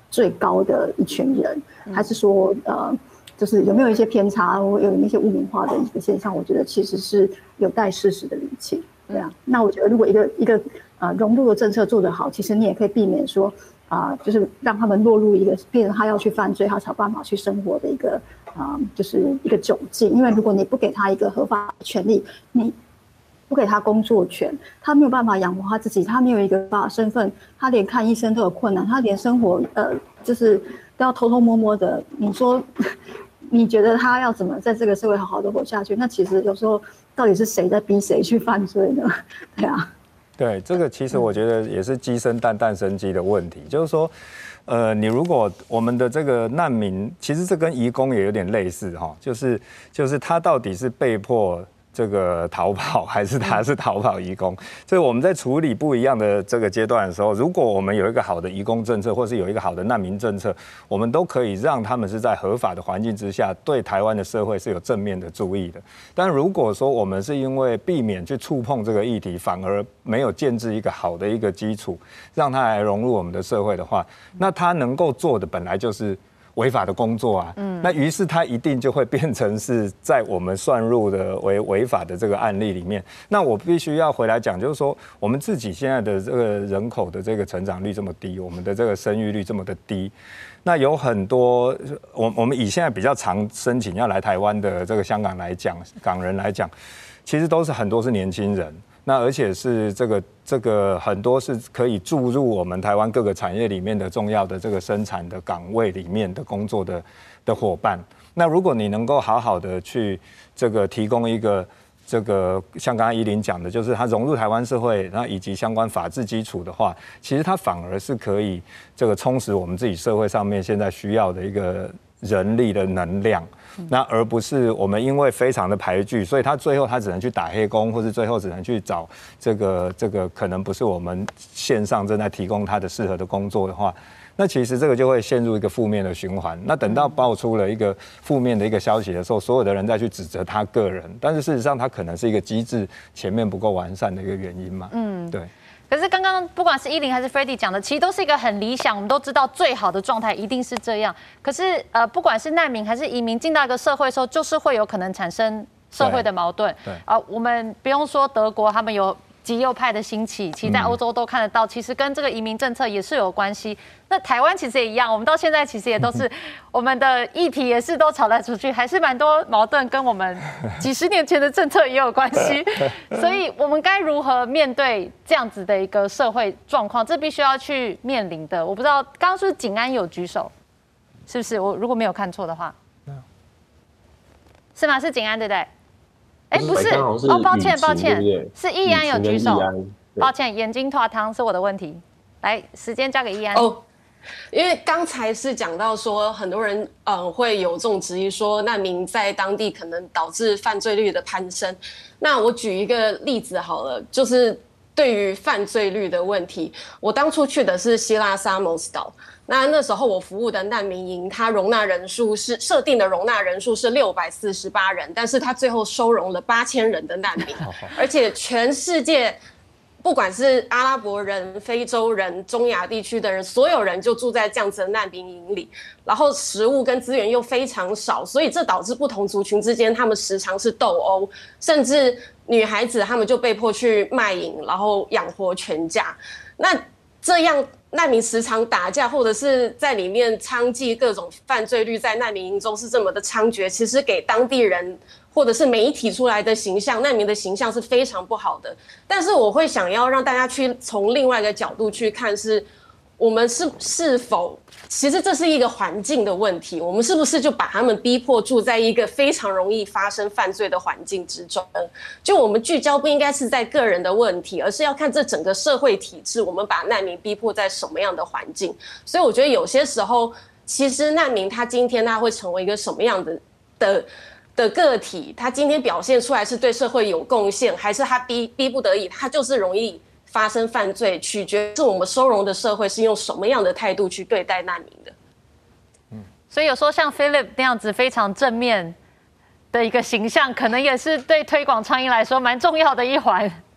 S6: 最高的一群人，還是說呃，就是有沒有一些偏差，或有一些污名化的一個現象？我覺得其實是有待事實的釐清。對啊，那我覺得如果一個一個呃融入的政策做得好，其實你也可以避免說啊、呃，就是讓他們落入一個變成他要去犯罪，他才有辦法去生活的一個啊、呃，就是一個窘境。因為如果你不給他一個合法的權利，你不給他工作權，他沒有辦法養活他自己，他沒有一個合法身份，他連看醫生都有困難，他連生活呃就是都要偷偷摸摸的。你說，你覺得他要怎麼在這個社會好好的活下去？那其實有時候到底是誰在逼誰去犯罪呢？對啊，
S4: 對，這個其實我覺得也是雞生蛋，蛋生雞的問題，就是說。呃，你如果我們的這個難民，其實這跟移工也有點類似哈，就是就是他到底是被迫這個逃跑，還是他是逃跑移工？所以我們在處理不一樣的這個階段的時候，如果我們有一個好的移工政策，或是有一個好的難民政策，我們都可以讓他們是在合法的環境之下，對台灣的社會是有正面的注意的。但如果說我們是因為避免去觸碰這個議題，反而沒有建置一個好的一個基礎，讓他來融入我們的社會的話，那他能夠做的本來就是違法的工作啊，嗯，那於是他一定就會變成是在我們算入的為違法的這個案例裡面。那我必須要回來講，就是說我們自己現在的這個人口的這個成長率這麼低，我們的這個生育率這麼的低，那有很多我我們以現在比較常申請要來台灣的這個香港來講，港人來講，其實都是很多是年輕人。那而且是這個這個很多是可以注入我們台灣各個產業裡面的重要的這個生產的崗位裡面的工作的的夥伴。那如果你能夠好好的去這個提供一個這個像剛剛依林講的，就是它融入台灣社會，然後以及相關法治基礎的話，其實它反而是可以這個充實我們自己社會上面現在需要的一個人力的能量。那而不是我們因為非常的排拒，所以他最後他只能去打黑工，或是最後只能去找這個這個可能不是我們線上正在提供他的適合的工作的話，那其實這個就會陷入一個負面的循環。那等到爆出了一個負面的一個消息的時候，所有的人再去指責他個人，但是事實上他可能是一個機制前面不夠完善的一個原因嘛。嗯，对。
S3: 可是剛剛不管是依林還是 Freddy 講的，其實都是一個很理想，我們都知道最好的狀態一定是這樣。可是呃，不管是難民還是移民進到一個社會的時候，就是會有可能產生社會的矛盾。對。啊、呃，我們不用說德國，他們有極右派的興起，其實在歐洲都看得到，其實跟這個移民政策也是有關係。那台灣其實也一樣，我們到現在其實也都是我們的議題也是都吵來吵去，還是蠻多矛盾，跟我們幾十年前的政策也有關係。所以我們該如何面對這樣子的一個社會狀況？這必須要去面臨的。我不知道剛剛是不是景安有舉手，是不是？我如果沒有看錯的話，是嗎？是景安對不對？哎，不是哦，抱歉抱歉，是易安有舉手，抱歉，眼睛脫湯是我的問題。來，時間交給易安。
S10: 哦，因為剛才是講到說，很多人嗯會有這種質疑，說難民在當地可能導致犯罪率的攀升。那我舉一個例子好了，就是對於犯罪率的問題，我當初去的是希臘薩摩斯島。那那時候我服務的難民營，它容納人數是設定的容納人數是六百四十八人，但是它最後收容了八千人的難民，而且全世界不管是阿拉伯人、非洲人、中亞地區的人，所有人就住在這樣子的難民營裡，然後食物跟資源又非常少，所以這導致不同族群之間他們時常是鬥毆，甚至女孩子他們就被迫去賣淫，然後養活全家。那這樣難民時常打架，或者是在裡面娼妓，各種犯罪率在難民營中是這麼的猖獗，其實給當地人或者是媒體出來的形象，難民的形象是非常不好的。但是我會想要讓大家去從另外一個角度去看，是我們是是否其實這是一個環境的問題，我們是不是就把他們逼迫住在一個非常容易發生犯罪的環境之中？就我們聚焦不應該是在個人的問題，而是要看這整個社會體制，我們把難民逼迫在什麼樣的環境。所以我覺得有些時候，其實難民他今天他會成為一個什麼樣的的的個體，他今天表現出來是對社會有貢獻，還是他逼逼不得已，他就是容易發生犯罪，取決是我們收容的社會是用什麼樣的態度去對待難民的。
S3: 嗯，所以有時候像 Philip 那樣子非常正面的一個形象，可能也是對推廣倡議來說蠻重要的一環。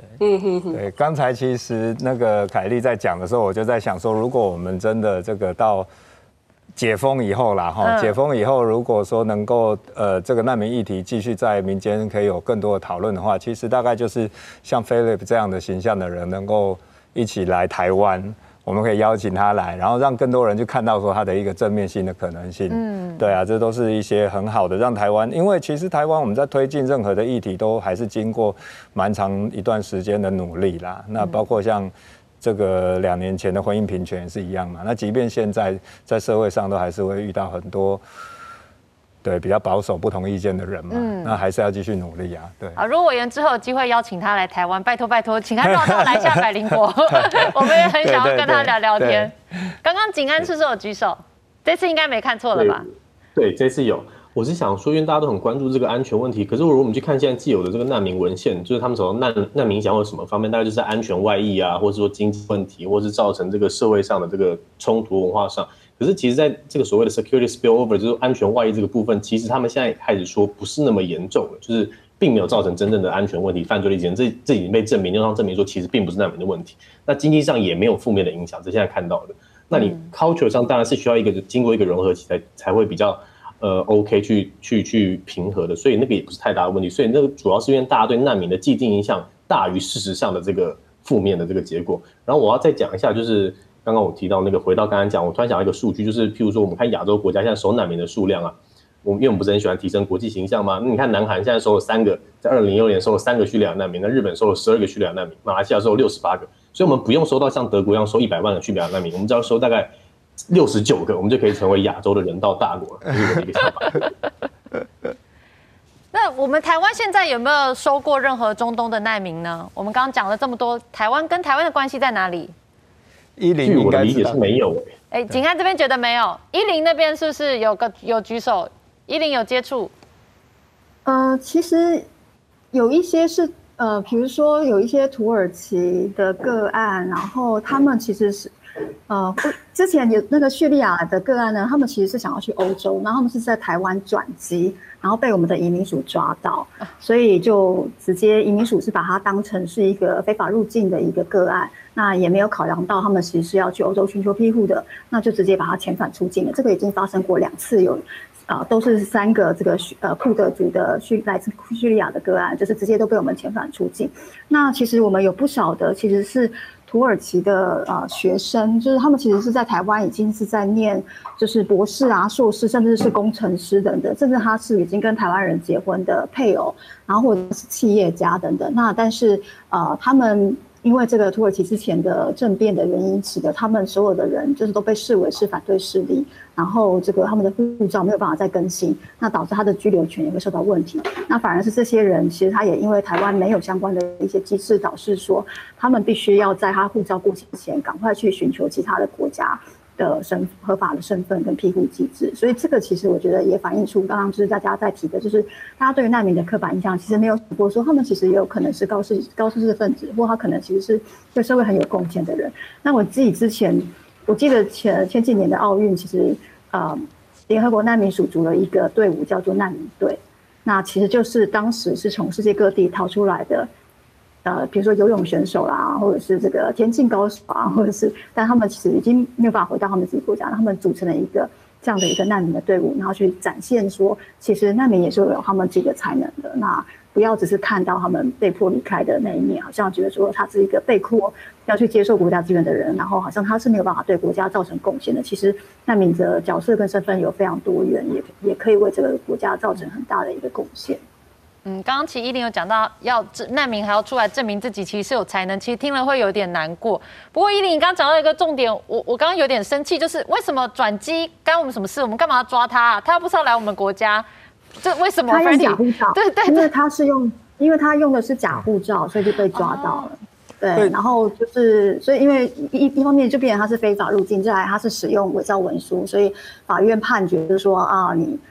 S4: 嗯哼哼。對，剛才其實那個凱麗在講的時候，我就在想說，如果我們真的這個到解封以後啦，哈，解封以後，如果說能夠呃這個難民議題繼續在民間可以有更多的討論的話，其實大概就是像 Philip 這樣的形象的人能夠一起來台灣，我們可以邀請他來，然後讓更多人去看到說他的一個正面性的可能性。嗯，對啊，這都是一些很好的讓台灣，因為其實台灣我們在推進任何的議題都還是經過蠻長一段時間的努力啦。那包括像這個兩年前的婚姻平權也是一樣嘛。那即便現在在社會上都還是會遇到很多對比較保守不同意見的人嘛，嗯、那還是要繼續努力啊。對啊，
S3: 如果委員之後有機會邀請他來台灣，拜托拜托，請他繞道來下百靈果，我們也很想要跟他聊聊天。剛剛景安是不是有舉手？這次應該沒看錯了吧？
S5: 對，對，這次有。我是想說，因為大家都很關注這個安全問題，可是如果我們去看現在既有的這個難民文獻，就是他們說難難民影響或什麼方面，大概就是在安全外溢啊，或者說經濟問題，或是造成這個社會上的這個衝突文化上。可是其實在這個所謂的 security spillover，就是安全外溢這個部分，其實他們現在開始說不是那麼嚴重了，就是並沒有造成真正的安全問題、犯罪率減，這這已經被證明，又上證明說其實並不是難民的問題。那經濟上也沒有負面的影響，這現在看到的。那你 culture 上當然是需要一個經過一個融合期才才會比較。呃 ，OK， 去去去平和的，所以那個也不是太大的問題。所以那個主要是因為大家對難民的既定印象大於事實上的這個負面的這個結果。然後我要再講一下，就是剛剛我提到那個，回到剛剛講，我突然想到一個數據，就是譬如說我們看亞洲國家現在收難民的數量啊，我們因為我們不是很喜歡提升國際形象嗎？那你看南韓現在收了三個，在二零一六年收了三個敘利亞難民，那日本收了十二個敘利亞難民，馬來西亞收了六十八個，所以我們不用收到像德國一樣收一百萬個敘利亞難民，我們只要收大概六十九個，我們就可以成為亞洲的人道大國了，這是我的一個想法。
S3: 那我们台灣現在有沒有收過任何中東的難民呢？我們剛剛講了這麼多，台灣跟台灣的關係在哪裡？
S4: 依林，
S5: 據我的理解是沒有。
S3: 哎、欸，景安這邊覺得沒有，依林那邊是不是有個有舉手？依林有接觸？
S6: 呃，其實有一些是呃，比如說有一些土耳其的個案，然後他們其實是。呃，之前有那個敘利亞的個案呢，他們其實是想要去歐洲，然後他們是在台灣轉機，然後被我們的移民署抓到，所以就直接移民署是把它當成是一個非法入境的一個個案，那也沒有考量到他們其實是要去歐洲尋求庇護的，那就直接把它遣返出境了。這個已經發生過兩次有，有呃都是三個這個呃庫德族的敘來自敘利亞的個案，就是直接都被我們遣返出境。那其實我們有不少的其實是。土耳其的呃學生，就是他們其實是在台灣已經是在念，就是博士啊、碩士，甚至是工程師等等，甚至他是已經跟台灣人結婚的配偶，然後或者是企業家等等。那但是呃，他們因為這個土耳其之前的政變的原因，使得他們所有的人就是都被視為是反對勢力，然後這個他們的護照沒有辦法再更新，那導致他的居留權也會受到問題。那反而是這些人，其實他也因為台灣沒有相關的一些機制，導致說他們必須要在他護照過期前，趕快去尋求其他的國家的身合法的身份跟庇護機制。所以這個其實我覺得也反映出剛剛就是大家在提的，就是大家對於難民的刻板印象其實沒有想過說他們其實也有可能是高知高知識分子，或他可能其實是對社會很有貢獻的人。那我自己之前我記得前前幾年的奧運，其實呃聯合國難民署組了一個隊伍叫做難民隊，那其實就是當時是從世界各地逃出來的。呃，比如說游泳選手啦，或者是這個田徑高手啊，或者是，但他們其實已經沒有辦法回到他們自己國家，他們組成了一個這樣的一個難民的隊伍，然後去展現說，其實難民也是有他們自己的才能的。那不要只是看到他們被迫離開的那一面，好像覺得說他是一個被迫要去接受國家資源的人，然後好像他是沒有辦法對國家造成貢獻的。其實難民的角色跟身份有非常多元，也也可以為這個國家造成很大的一個貢獻。
S3: 嗯，剛剛其實依林有講到，要難民還要出來證明自己其實是有才能，其實聽了會有點難過。不過依林，你剛剛講到一個重點，我我剛剛有點生氣，就是為什麼轉機干我們什麼事？我們幹嘛要抓他啊？他又不是要來我們國家，這為什麼？
S6: 他用假護照，
S3: 對對對，
S6: 因為他是用，因為他用的是假護照，所以就被抓到了。哦、對，對，然後就是，所以因為一一方面就變成他是非法入境，再來他是使用偽造文書，所以法院判決就是說啊，你。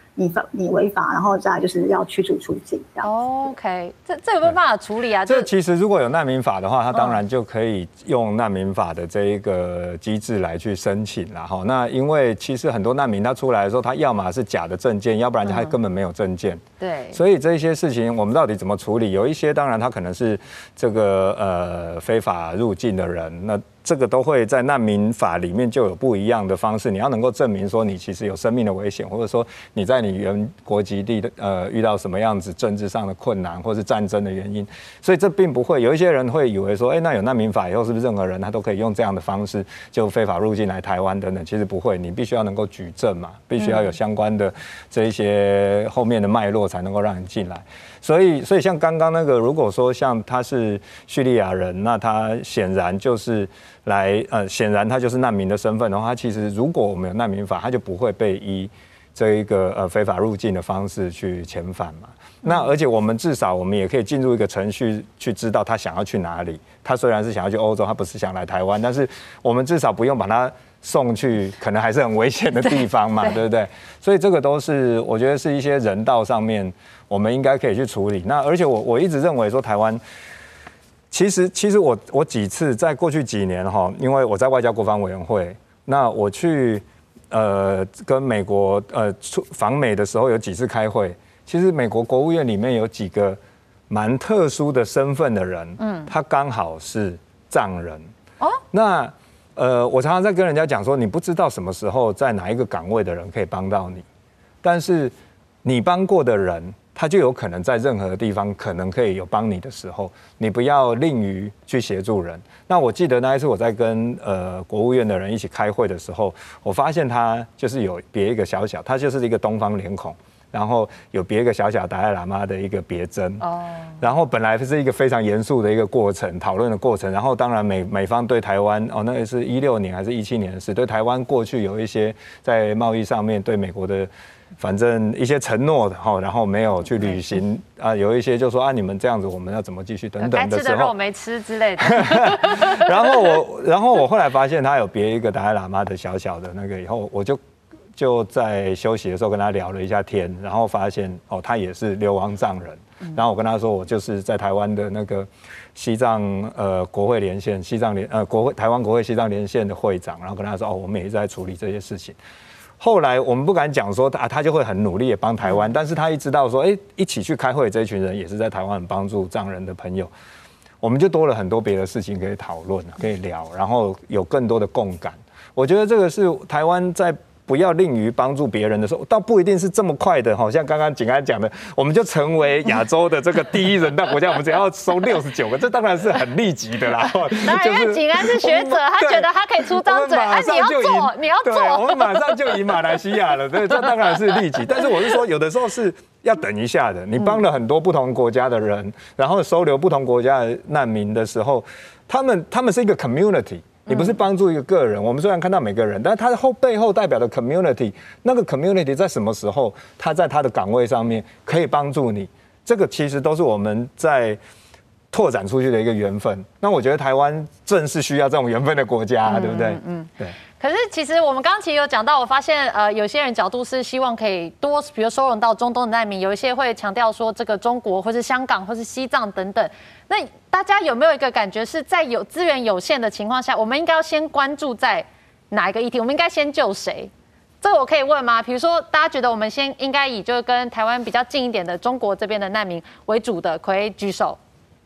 S6: 你犯你違法，然後再來就是要驅逐出境這樣。
S3: OK， 這這有沒有辦法處理啊？
S4: 這其實如果有難民法的話，它當然就可以用難民法的這一個機制來去申請啦。哈，那因為其實很多難民他出來的時候，他要麼是假的證件，要不然他根本沒有證件。嗯、對。所以這些事情我們到底怎麼處理？有一些當然他可能是這個呃非法入境的人，那這個都會在難民法裡面就有不一樣的方式。你要能夠證明說你其實有生命的危險，或者說你在你原國籍地的呃遇到什麼樣子政治上的困難，或是戰爭的原因。所以這並不會有一些人會以為說，哎，那有難民法以後是不是任何人他都可以用這樣的方式就非法入境來台灣等等？其實不會，你必須要能夠舉證嘛，必須要有相關的這一些後面的脈絡才能夠讓你進來。所以，所以像剛剛那個，如果說像他是敘利亞人，那他顯然就是來呃，顯然他就是難民的身份的話，他其實如果我們有難民法，他就不會被依這一個呃非法入境的方式去遣返嘛。那而且我們至少我們也可以進入一個程序去知道他想要去哪裡。他雖然是想要去歐洲，他不是想來台灣，但是我們至少不用把他送去可能還是很危險的地方嘛， 對, 對不對？所以這個都是我覺得是一些人道上面我們應該可以去處理。那而且我我一直認為說台灣，其實其實我我幾次在過去幾年哈，因為我在外交國防委員會，那我去呃跟美國呃出訪美的時候有幾次開會，其實美國國務院裡面有幾個蠻特殊的身份的人，嗯，他剛好是藏人哦，那。呃，我常常在跟人家講說，你不知道什麼時候在哪一個崗位的人可以幫到你，但是你幫過的人，他就有可能在任何地方可能可以有幫你的時候，你不要吝於去協助人。那我記得那一次我在跟呃國務院的人一起開會的時候，我發現他就是有別一個小小，他就是一個東方臉孔。然後有別一個小小達賴喇嘛的一個別針，哦，然後本來是一個非常嚴肅的一個過程，討論的過程。然後當然美美方對台灣，哦，那個是一六年還是一七年的事，對台灣過去有一些在貿易上面對美國的，反正一些承諾的哈，然後沒有去履行啊，有一些就說啊，你們這樣子我們要怎麼繼續等等的時候，該吃的肉沒吃之類的。然後我，然後我後來發現他有別一個達賴喇嘛的小小的那個以後，我就。就在休息的時候跟他聊了一下天，然後發現哦，他也是流亡藏人。然後我跟他說，我就是在台灣的那個西藏呃國會連線西藏連呃國會台灣國會西藏連線的會長，然後跟他說哦，我們也一直在處理這些事情。後來我們不敢講說啊，他就會很努力也幫台灣，但是他一知道說，哎，一起去開會這一群人也是在台灣很幫助藏人的朋友，我們就多了很多別的事情可以討論，可以聊，然後有更多的共感。我覺得這個是台灣在。不要吝於幫助別人的時候，倒不一定是這麼快的，好像剛剛景安講的，我們就成為亞洲的這個第一人道國家，我們只要收六十九個，這當然是很立即的啦。
S3: 當然，因為景安是學者，他覺得他可以出張嘴，哎，你要做，你要做，
S4: 我們馬上就贏馬來西亞了，對，這當然是立即。但是我是說，有的時候是要等一下的。你幫了很多不同國家的人，然後收留不同國家的難民的時候，他們他們是一個 community。你不是幫助一個個人，我們雖然看到每個人，但是他後背後代表的 community， 那個 community 在什麼時候，他在他的崗位上面可以幫助你，這個其實都是我們在拓展出去的一個緣分。那我覺得台灣正是需要這種緣分的國家，嗯、對不對？嗯，對。
S3: 可是其實我們剛剛其實有講到，我發現呃有些人角度是希望可以多，比如收容到中東的難民，有一些會強調說這個中國或是香港或是西藏等等。那大家有沒有一個感覺是在有資源有限的情況下，我們應該要先關注在哪一個議題？我們應該先救誰？這個我可以問嗎？比如說大家覺得我們先應該以就是跟台灣比較近一點的中國這邊的難民為主的，可以舉手。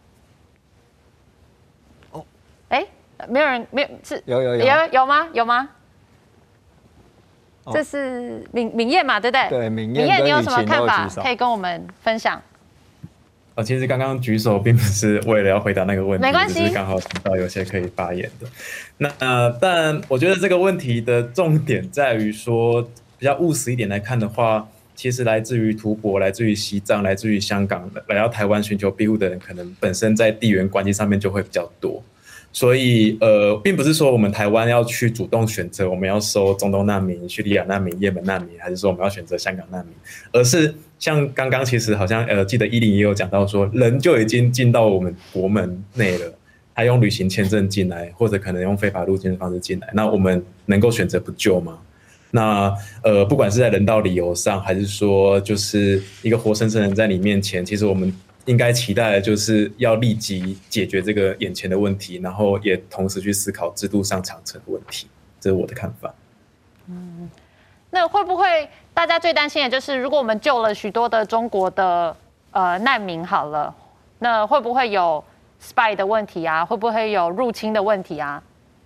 S3: 哦，哎。沒有人，沒有是
S4: 有有有
S3: 有有嗎？有嗎？哦、這是敏敏燕嘛，對不對？
S4: 對，敏
S3: 燕，你有什麼看法可以跟我們分享？
S8: 呃，其實剛剛舉手並不是為了要回答那個問題，
S3: 沒關係，
S8: 只是剛好聽到有些可以發言的。那呃，但我覺得這個問題的重點在於說，比較務實一點來看的話，其實來自於吐蕃、來自於西藏、來自於香港的來到台灣尋求庇護的人，可能本身在地緣關係上面就會比較多。所以，呃，並不是說我們台灣要去主動選擇我們要收中東難民、敘利亞難民、也門難民，還是說我們要選擇香港難民，而是像剛剛其實好像呃，記得依林也有講到說，人就已經進到我們國門內了，他用旅行簽證進來，或者可能用非法入境的方式進來，那我們能夠選擇不救嗎？ 那呃，不管是在人道理由上，還是說就是一個活生生人在你面前，其實我們應該期待的就是要立即解決這個眼前的問題，然後也同時去思考制度上長程的問題。這是我的看法。
S3: 嗯，那會不會大家最擔心的就是，如果我們救了許多的中國的呃難民好了，那會不會有 spy 的問題啊？會不會有入侵的問題啊？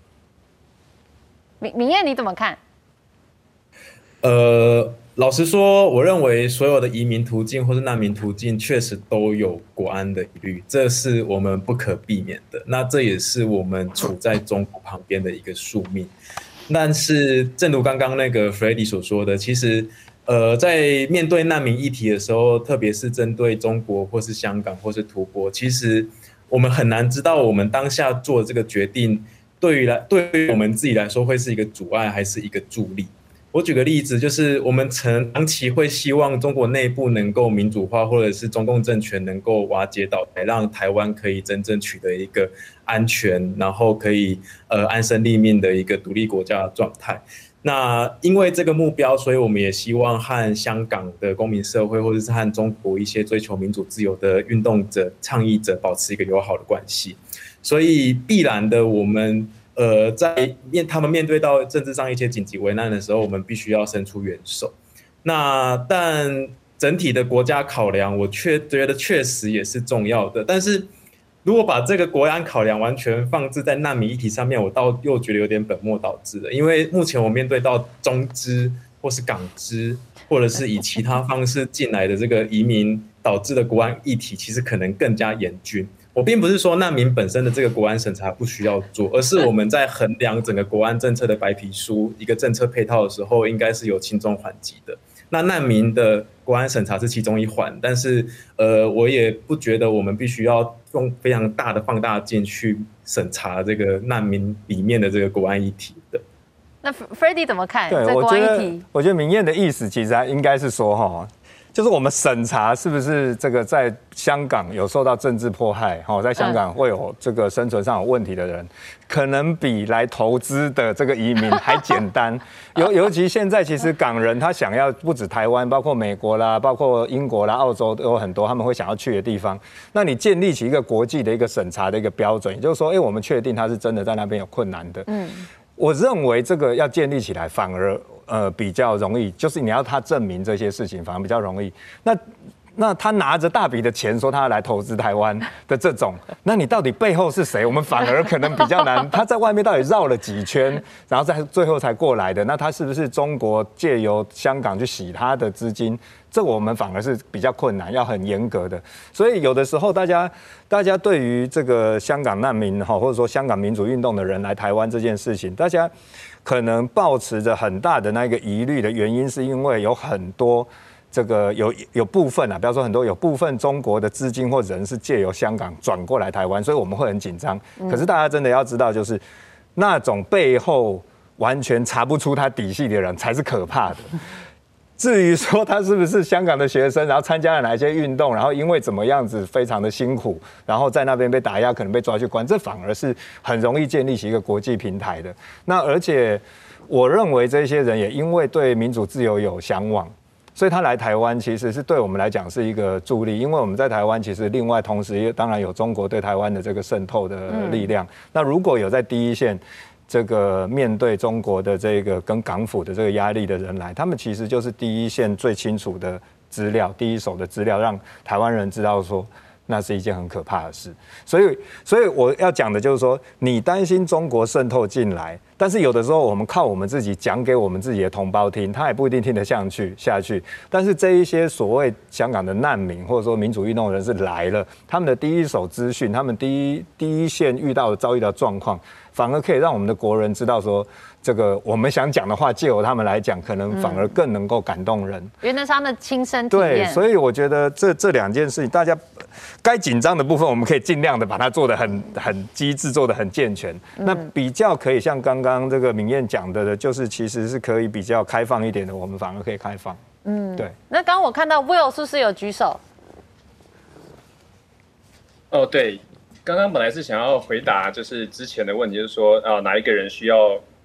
S3: 明明彥你怎麼看？
S8: 呃，老實說，我認為所有的移民途徑或是難民途徑確實都有國安的疑慮，這是我們不可避免的。那這也是我們處在中國旁邊的一個宿命。但是，正如剛剛那個 Freddy 所說的，其實，呃，在面對難民議題的時候，特別是針對中國或是香港或是土國，其實我們很難知道我們當下做的這個決定，對於來對於我們自己來說會是一個阻礙還是一個助力？我舉個例子，就是我們長期會希望中國內部能夠民主化，或者是中共政權能夠瓦解倒台，讓台灣可以真正取得一個安全，然後可以呃安身立命的一個獨立國家的狀態。那因為這個目標，所以我們也希望和香港的公民社會，或者是和中國一些追求民主自由的運動者、倡議者保持一個友好的關係。所以必然的，我們呃在面他們面對到政治上一些緊急危難的時候，我們必須要伸出援手。那但整體的國家考量，我確覺得確實也是重要的。但是如果把這個國安考量完全放置在難民議題上面，我倒又覺得有點本末倒置了。因為目前我面對到中資或是港資，或者是以其他方式進來的這個移民導致的國安議題，其實可能更加嚴峻。我並不是說難民本身的這個國安審查不需要做，而是我們在衡量整個國安政策的白皮書一個政策配套的時候，應該是有輕重緩急的。那難民的國安審查是其中一環，但是呃，我也不覺得我們必須要用非常大的放大鏡去審查這個難民裡面的這個國安議題的。
S3: 那 Freddy 怎麼看？
S4: 對，我覺得，我覺得明彥的意思其實應該是說哈。就是我們審查是不是這個在香港有受到政治迫害，在香港會有這個生存上有問題的人，可能比來投資的這個移民還簡單。尤尤其現在其實港人他想要不止台灣，包括美國啦，包括英國啦、澳洲都有很多他們會想要去的地方。那你建立起一個國際的一個審查的一個標準，也就是說，哎，我們確定他是真的在那邊有困難的。嗯，我認為這個要建立起來反而。呃，比較容易，就是你要他證明這些事情，反而比較容易。那那他拿着大筆的錢說他要來投資台灣的這種，那你到底背後是誰？我們反而可能比較難。他在外面到底繞了幾圈，然後在最後才過來的？那他是不是中國借由香港去洗他的資金？這我們反而是比較困難，要很嚴格的。所以有的時候，大家大家對於這個香港難民哈，或者說香港民主運動的人來台灣這件事情，大家可能抱持着很大的那個疑慮的原因，是因為有很多這個有有部分啊，不要說很多，有部分中國的資金或人是借由香港轉過來台灣，所以我們會很緊張。可是大家真的要知道，就是那種背後完全查不出他底細的人才是可怕的。至於說他是不是香港的學生，然後參加了哪一些運動，然後因為怎麼樣子非常的辛苦，然後在那邊被打壓，可能被抓去關，這反而是很容易建立起一個國際平台的。那而且我認為這些人也因為對民主自由有向往，所以他來台灣其實是對我們來講是一個助力，因為我們在台灣其實另外同時也當然有中國對台灣的這個滲透的力量。嗯、那如果有在第一線這個面對中國的這個跟港府的這個壓力的人來，他們其實就是第一線最清楚的資料，第一手的資料，讓台灣人知道說那是一件很可怕的事。所以，所以我要講的就是說，你擔心中國滲透進來，但是有的時候我們靠我們自己講給我們自己的同胞聽，他也不一定聽得下去下去。但是這一些所謂香港的難民或者說民主運動人士來了，他們的第一手資訊，他們第一第一線遇到的遭遇到狀況，反而可以讓我們的國人知道說，這個我們想講的話，借由他們來講，可能反而更能夠感動人。因為那是他們的親身體驗。對，所以我覺得這這兩件事情，大家該緊張的部分，我們可以盡量的把它做得很很機智，做得很健全。嗯、那比較可以像剛剛這個明彥講的的，就是其實是可以比較開放一點的，我們反而可以開放。嗯，對。那剛剛我看到 Will 是不是有舉手？
S7: 哦，對。剛剛本來是想要回答，就是之前的問題，就是說啊，哪一個人需要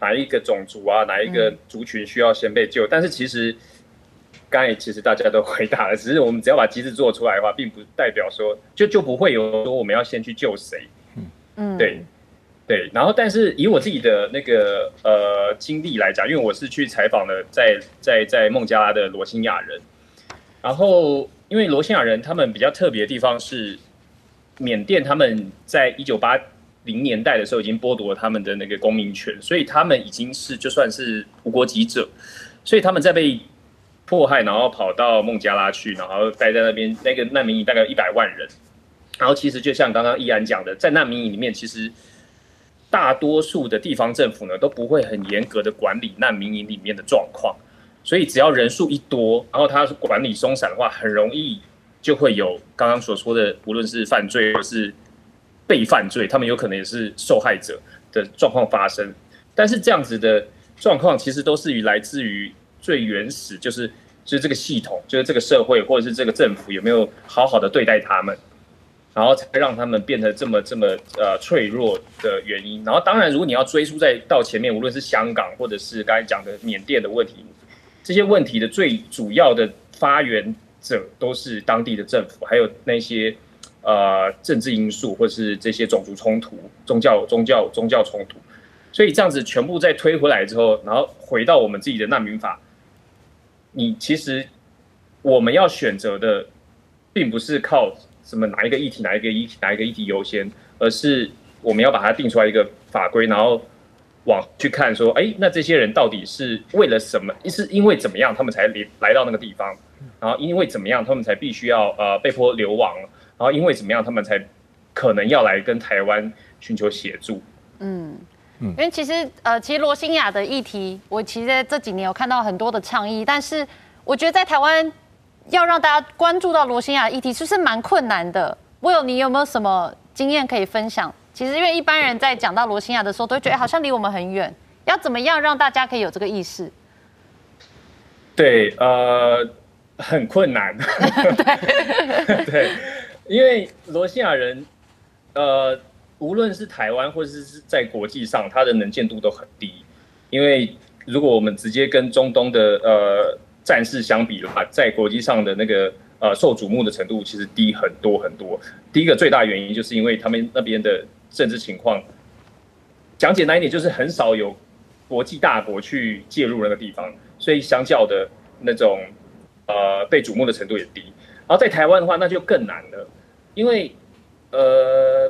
S7: 哪一個種族啊，哪一個族群需要先被救，嗯、但是其實剛才其實大家都回答了，只是我們只要把機制做出來的話，並不代表說就就不會有說我們要先去救誰。嗯，對。對，然後但是以我自己的那個呃經歷來講，因為我是去採訪了在在在孟加拉的羅興亞人，然後因為羅興亞人他們比較特別的地方是，緬甸他們在一九八零年代的時候已經剝奪了他們的那個公民權，所以他們已經是就算是無國籍者，所以他們在被迫害，然後跑到孟加拉去，然後待在那邊，那個難民營大概有一百萬人，然後其實就像剛剛易安講的，在難民營裡面其實。大多數的地方政府呢都不會很嚴格的管理難民營裡面的狀況，所以只要人數一多，然後他管理鬆散的話，很容易就會有剛剛所說的，無論是犯罪或是被犯罪，他們有可能也是受害者的狀況發生。但是這樣子的狀況其實都是於來自於最原始，就是就是這個系統，就是這個社會或者是這個政府有沒有好好的對待他們。然後才讓他們變得這麼這麼呃脆弱的原因。然後當然，如果你要追溯再到前面，無論是香港或者是剛才講的緬甸的問題，這些問題的最主要的發源者都是當地的政府，還有那些呃政治因素，或是這些種族衝突、宗教宗教宗教衝突。所以這樣子全部再推回來之後，然後回到我們自己的難民法，你其實我們要選擇的，並不是靠。什麼哪一個議題哪一個議題哪一個議題優先，而是我們要把它定出來一個法規，然後往去看說，哎，那這些人到底是為了什麼？是因為怎麼樣他們才來到那個地方？然後因為怎麼樣他們才必須要呃被迫流亡？然後因為怎麼樣他們才可能要來跟台灣尋求協助？嗯嗯，
S3: 因為其實呃，其實羅興亞的議題，我其實在這幾年有看到很多的倡議，但是我覺得在台灣。要讓大家關注到羅興亞的議題，是不是蠻困難的？Will，你有沒有什麼經驗可以分享？其實因為一般人在講到羅興亞的時候，都會覺得、欸、好像離我們很遠。要怎麼樣讓大家可以有這個意識？
S7: 對，呃，很困難。對，對，因為羅興亞人，呃，無論是台灣或者是在國際上，他的能見度都很低。因為如果我們直接跟中東的呃。戰事相比的話，在國際上的那個呃受矚目的程度其實低很多很多。第一個最大原因就是因為他們那邊的政治情況，講簡單一點就是很少有國際大國去介入那個地方，所以相較的那種呃被矚目的程度也低。然後在台灣的話，那就更難了，因為呃，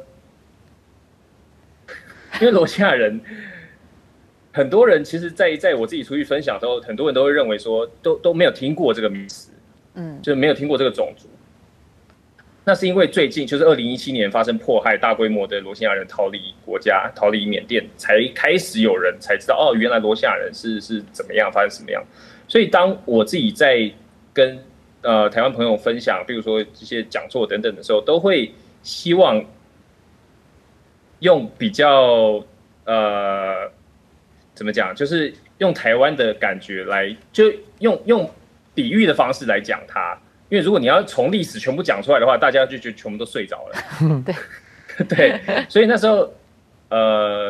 S7: 因為羅興亞人。很多人其實在，在在我自己出去分享的時候，很多人都會認為說，都都沒有聽過這個名詞，嗯，就是沒有聽過這個種族。那是因為最近就是二零一七年發生迫害，大規模的羅興亞人逃離國家，逃離緬甸，才開始有人才知道，哦，原來羅興亞人是是怎麼樣，發生什麼樣。所以當我自己在跟呃台灣朋友分享，比如說這些講座等等的時候，都會希望用比較呃。怎麼講？就是用台灣的感覺來，就用用比喻的方式來講它。因為如果你要從歷史全部講出來的話，大家就覺得全部都睡着了。對對，所以那時候，呃，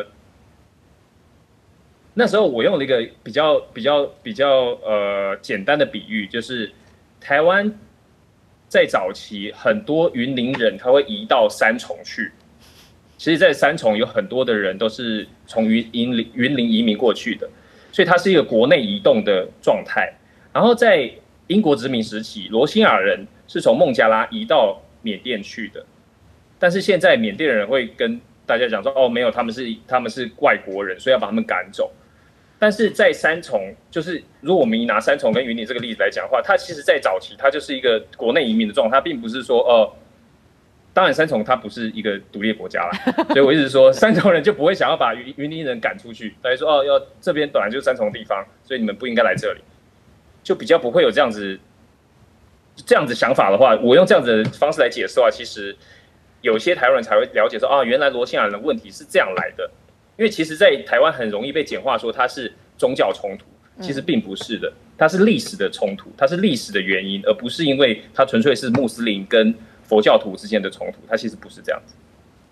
S7: 那時候我用了一個比較比較比較呃簡單的比喻，就是台灣在早期很多雲林人他會移到三重去。其實，在三重有很多的人都是從雲林雲林移民過去的，所以它是一個國內移動的狀態。然後在英國殖民時期，羅興亞人是從孟加拉移到緬甸去的，但是現在緬甸人會跟大家講說：“哦，沒有，他們是他們是外國人，所以要把他們趕走。”但是在三重，就是如果我們以拿三重跟雲林這個例子來講的話，它其實在早期它就是一個國內移民的狀態，它並不是說哦。呃當然，三重它不是一個獨立國家啦，所以我一直說，三重人就不會想要把雲雲林人趕出去。大家說哦，要這邊本來就是三重地方，所以你們不應該來這裡，就比較不會有這樣子這樣子想法的話，我用這樣子的方式來解釋的話，其實有些台灣人才會了解說啊，原來羅興亞人的問題是這樣來的。因為其實，在台灣很容易被簡化說它是宗教衝突，其實並不是的，它是歷史的衝突，它是歷史的原因，而不是因為它純粹是穆斯林跟佛教徒之間的衝突，它其實不是這樣子。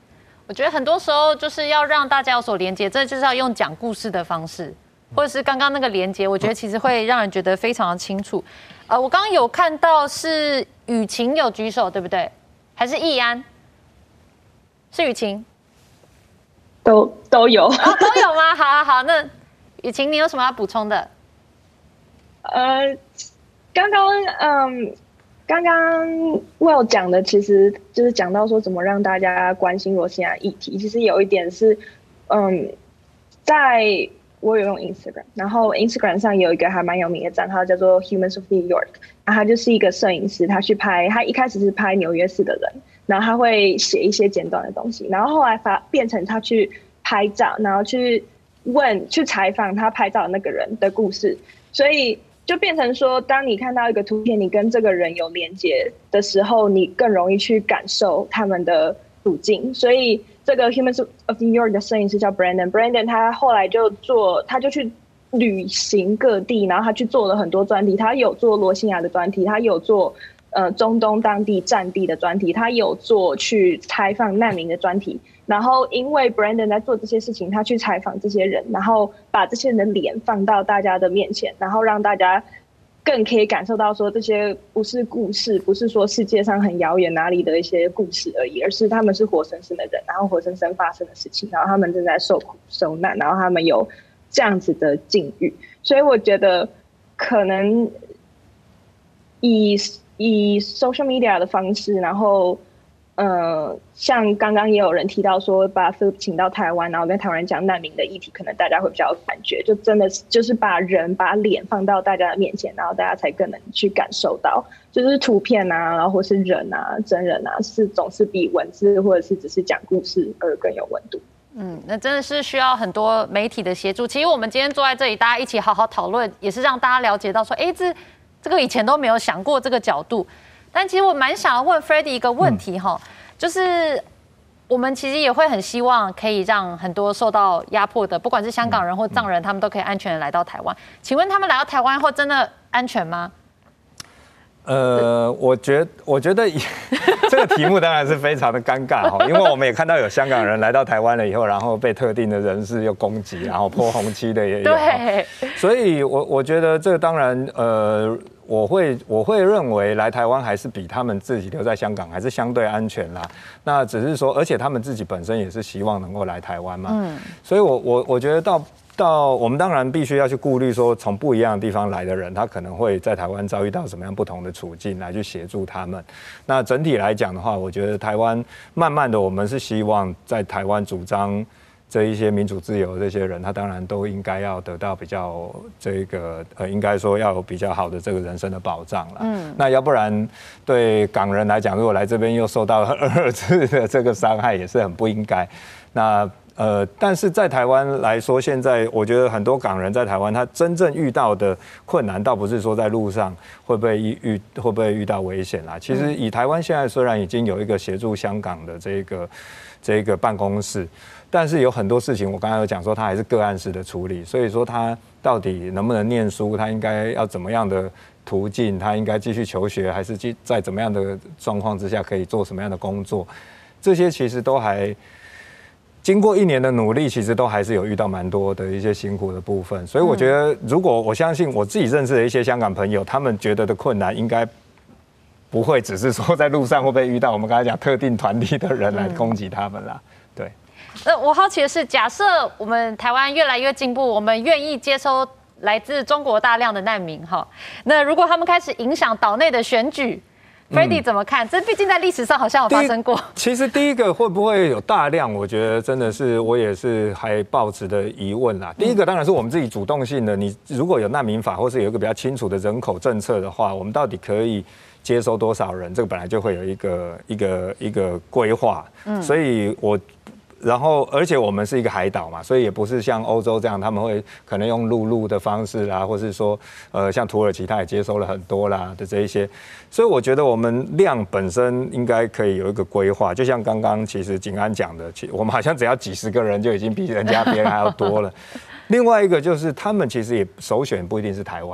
S3: 我覺得很多時候就是要讓大家有所連接，這就是要用講故事的方式，或者是剛剛那個連接，我覺得其實會讓人覺得非常的清楚。呃，我剛剛有看到是雨晴有舉手，對不對？還是易安？是雨晴？
S9: 都都有、
S3: 哦，都有嗎？好好好，那雨晴你有什麼要補充的？
S9: 呃，剛剛嗯。剛剛 Will 講的其實就是講到說怎麼讓大家關心羅興亞議題。其實有一點是，嗯，在我有用 Instagram， 然後 Instagram 上有一個還蠻有名的賬號叫做 Humans of New York， 然後他就是一個攝影師，他去拍，他一開始是拍紐約市的人，然後他會寫一些簡短的東西，然後後來發變成他去拍照，然後去問去採訪他拍照的那個人的故事，所以。就變成說，當你看到一個圖片，你跟這個人有連接的時候，你更容易去感受他們的處境。所以，這個 Humans of New York 的攝影師叫 Brandon，Brandon 他後來就做，他就去旅行各地，然後他去做了很多專題。他有做羅興亞的專題，他有做呃中東當地戰地的專題，他有做去採訪難民的專題。然後，因為 Brandon 在做這些事情，他去採訪這些人，然後把這些人的臉放到大家的面前，然後讓大家更可以感受到說，這些不是故事，不是說世界上很遙遠哪裡的一些故事而已，而是他們是活生生的人，然後活生生發生的事情，然後他們正在受苦受難，然後他們有這樣子的境遇。所以我覺得，可能以以 social media 的方式，然後。呃，像剛剛也有人提到說，把 Philip 請到台灣，然後跟台灣人講難民的議題，可能大家會比較有感覺，就真的是就是把人把臉放到大家的面前，然後大家才更能去感受到，就是圖片啊，然後或是人啊、真人啊，是總是比文字或者是只是講故事而更有溫度。
S3: 嗯，那真的是需要很多媒體的協助。其實我們今天坐在這裡，大家一起好好討論，也是讓大家了解到說，哎，這這個以前都沒有想過這個角度。但其實我蠻想要問 Freddy 一個問題哈，嗯、就是我們其實也會很希望可以讓很多受到壓迫的，不管是香港人或藏人，他們都可以安全的來到台灣。請問他們來到台灣後真的安全嗎？
S4: 呃，我覺我覺得這個題目當然是非常的尷尬哈，因為我們也看到有香港人來到台灣了以後，然後被特定的人士又攻擊，然後潑紅漆的也有。對。所以我我覺得這個當然呃。我會我會認為來台灣還是比他們自己留在香港還是相對安全啦。那只是說，而且他們自己本身也是希望能夠來台灣嘛。嗯。所以我我我覺得到到我們當然必須要去顧慮說，從不一樣的地方來的人，他可能會在台灣遭遇到什麼樣不同的處境，來去協助他們。那整體來講的話，我覺得台灣慢慢的，我們是希望在台灣主張這一些民主自由的這些人，他當然都應該要得到比較這個呃，應該說要有比較好的這個人身的保障了。嗯，那要不然對港人來講，如果來這邊又受到二次的這個傷害，也是很不應該。那呃，但是在台灣來說，現在我覺得很多港人在台灣，他真正遇到的困難，倒不是說在路上會不會遇會不會遇到危險啦。其實以台灣現在雖然已經有一個協助香港的這個這個辦公室。但是有很多事情，我剛才有講說，他還是個案式的處理，所以說他到底能不能念書，他應該要怎麼樣的途徑，他應該繼續求學，還是在怎麼樣的狀況之下可以做什麼樣的工作，這些其實都還經過一年的努力，其實都還是有遇到蠻多的一些辛苦的部分。所以我覺得，如果我相信我自己認識的一些香港朋友，他們覺得的困難應該不會只是說在路上會不會遇到我們剛才講特定團體的人來攻擊他們啦，對。
S3: 那我好奇的是，假設我們台灣越來越進步，我們願意接收來自中國大量的難民哈，那如果他們開始影響島內的選舉 ，Freddy 怎麼看？這畢竟在歷史上好像有發生過。
S4: 其實第一個會不會有大量，我覺得真的是我也是還抱持的疑問啦。第一個當然是我們自己主動性的，你如果有難民法或是有一個比較清楚的人口政策的話，我們到底可以接收多少人？這個本來就會有一個一個一個規劃。嗯，所以我。然後，而且我們是一個海島嘛，所以也不是像歐洲這樣，他們會可能用陸路的方式啦，或是說，呃，像土耳其他也接收了很多啦的這一些，所以我覺得我們量本身應該可以有一個規劃，就像剛剛其實景安講的，其實我們好像只要幾十個人就已經比人家別人還要多了。另外一個就是他們其實也首選不一定是台灣。其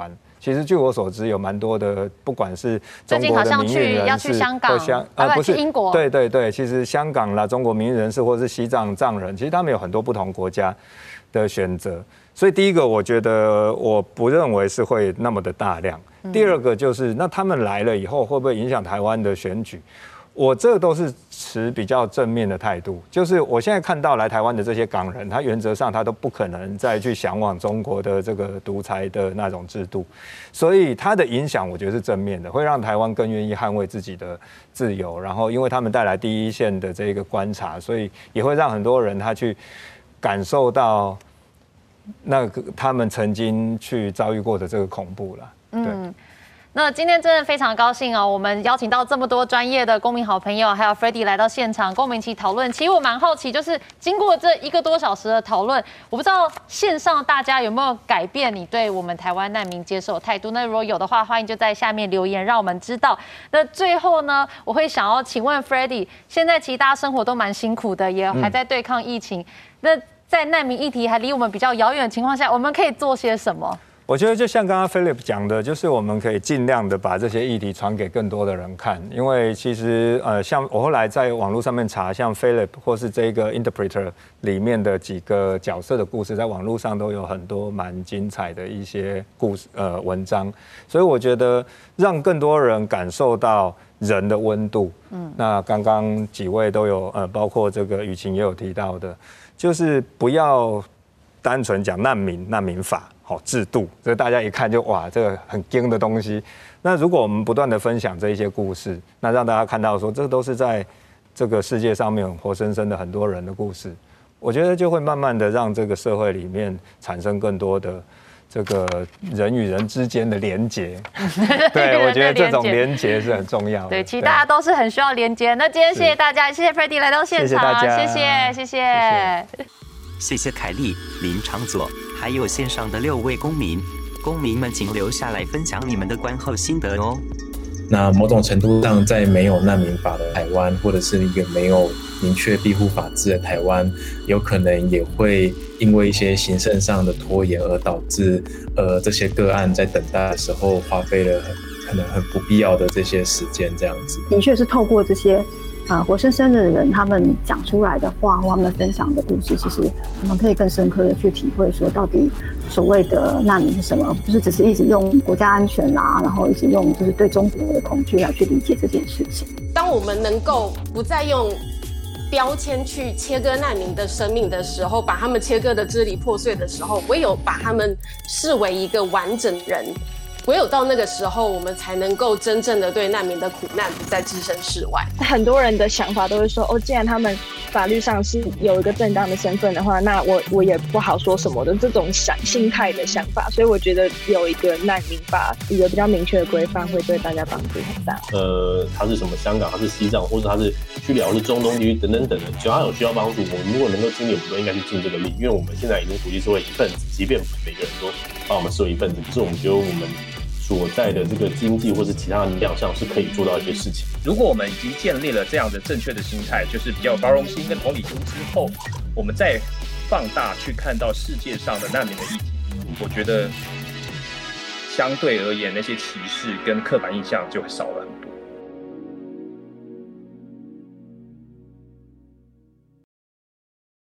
S4: 其實據我所知，有蠻多的，不管是中國的民運人士，或香啊不是英國，對對對，其實香港啦，中國民運人士或是西藏藏人，其實他們有很多不同國家的選擇。所以第一個，我覺得我不認為是會那麼的大量。第二個就是，那他們來了以後，會不會影響台灣的選舉？我這都是持比較正面的態度，就是我現在看到來台灣的這些港人，他原則上他都不可能再去嚮往中國的這個獨裁的那種制度，所以他的影響我覺得是正面的，會讓台灣更願意捍衛自己的自由，然後因為他們帶來第一線的這個觀察，所以也會讓很多人他去感受到那個他們曾經去遭遇過的這個恐怖了，對。嗯，
S3: 那今天真的非常高興哦，我們邀請到這麼多專業的公民好朋友，還有 Freddy 來到現場，跟我們一起討論。其實我蠻好奇，就是經過這一個多小時的討論，我不知道線上大家有沒有改變你對我們台灣難民接受的態度？那如果有的話，歡迎就在下面留言，讓我們知道。那最後呢，我會想要請問 Freddy， 現在其實大家生活都蠻辛苦的，也還在對抗疫情。嗯、那在難民議題還離我們比較遙遠的情況下，我們可以做些什麼？
S4: 我覺得就像剛剛 Philip 講的，就是我們可以盡量的把這些議題傳給更多的人看，因為其實呃，像我後來在網絡上面查，像 Philip 或是這個 Interpreter 裡面的幾個角色的故事，在網絡上都有很多蠻精彩的一些故事呃文章，所以我覺得讓更多人感受到人的溫度。嗯，那剛剛幾位都有呃，包括這個雨晴也有提到的，就是不要單純講難民、難民法。好制度，這大家一看就哇，這個很驚的東西。那如果我們不斷的分享這一些故事，那讓大家看到說，這都是在這個世界上面活生生的很多人的故事，我覺得就會慢慢的讓這個社會裡面產生更多的這個人與人之間的連結。對，我覺得這種連結是很重要的。
S3: 對，其實大家都是很需要連結。那今天謝謝大家，謝謝 Freddy 來到現場，謝謝大家，謝謝，謝謝。謝謝
S2: 謝謝凱莉、林長佐，還有線上的六位公民。公民們，請留下來分享你們的觀後心得哦。
S8: 那某種程度上，在沒有難民法的台灣，或者是一個沒有明確庇護法制的台灣，有可能也會因為一些行政上的拖延，而導致呃這些個案在等待的時候花費了很可能很不必要的這些時間，這樣子。
S6: 的確是透過這些。啊，活生生的人，他們講出來的話，或他們分享的故事，其實我們可以更深刻的去體會，說到底所謂的難民是什麼？就是只是一直用國家安全啦，然後一直用就是對中國的恐懼來去理解這件事情。
S10: 當我們能夠不再用標籤去切割難民的生命的時候，把他們切割的支離破碎的時候，唯有把他們視為一個完整人。唯有到那個時候，我們才能夠真正的對難民的苦難不再置身事外。
S9: 很多人的想法都會說，哦，既然他們法律上是有一個正當的身份的話，那我我也不好說什麼的這種想心態的想法。所以我覺得有一個難民法，一個比較明確的規範，會對大家幫助很大。
S5: 呃，他是什麼香港，他是西藏，或者他是敘利亞，或是中東地區等等等的，只要他有需要幫助，我們如果能夠盡力，我們都應該去盡這個力，因為我們現在已經國際社會一份子，即便每個人都把我們視為一份子，可是我們覺得我們所在的這個經濟或是其他的力量上是可以做到一些事情。
S7: 如果我們已經建立了這樣的正確的心態，就是比較有包容心跟同理心之後，我們再放大去看到世界上的難民的議題，我覺得相對而言，那些歧視跟刻板印象就少了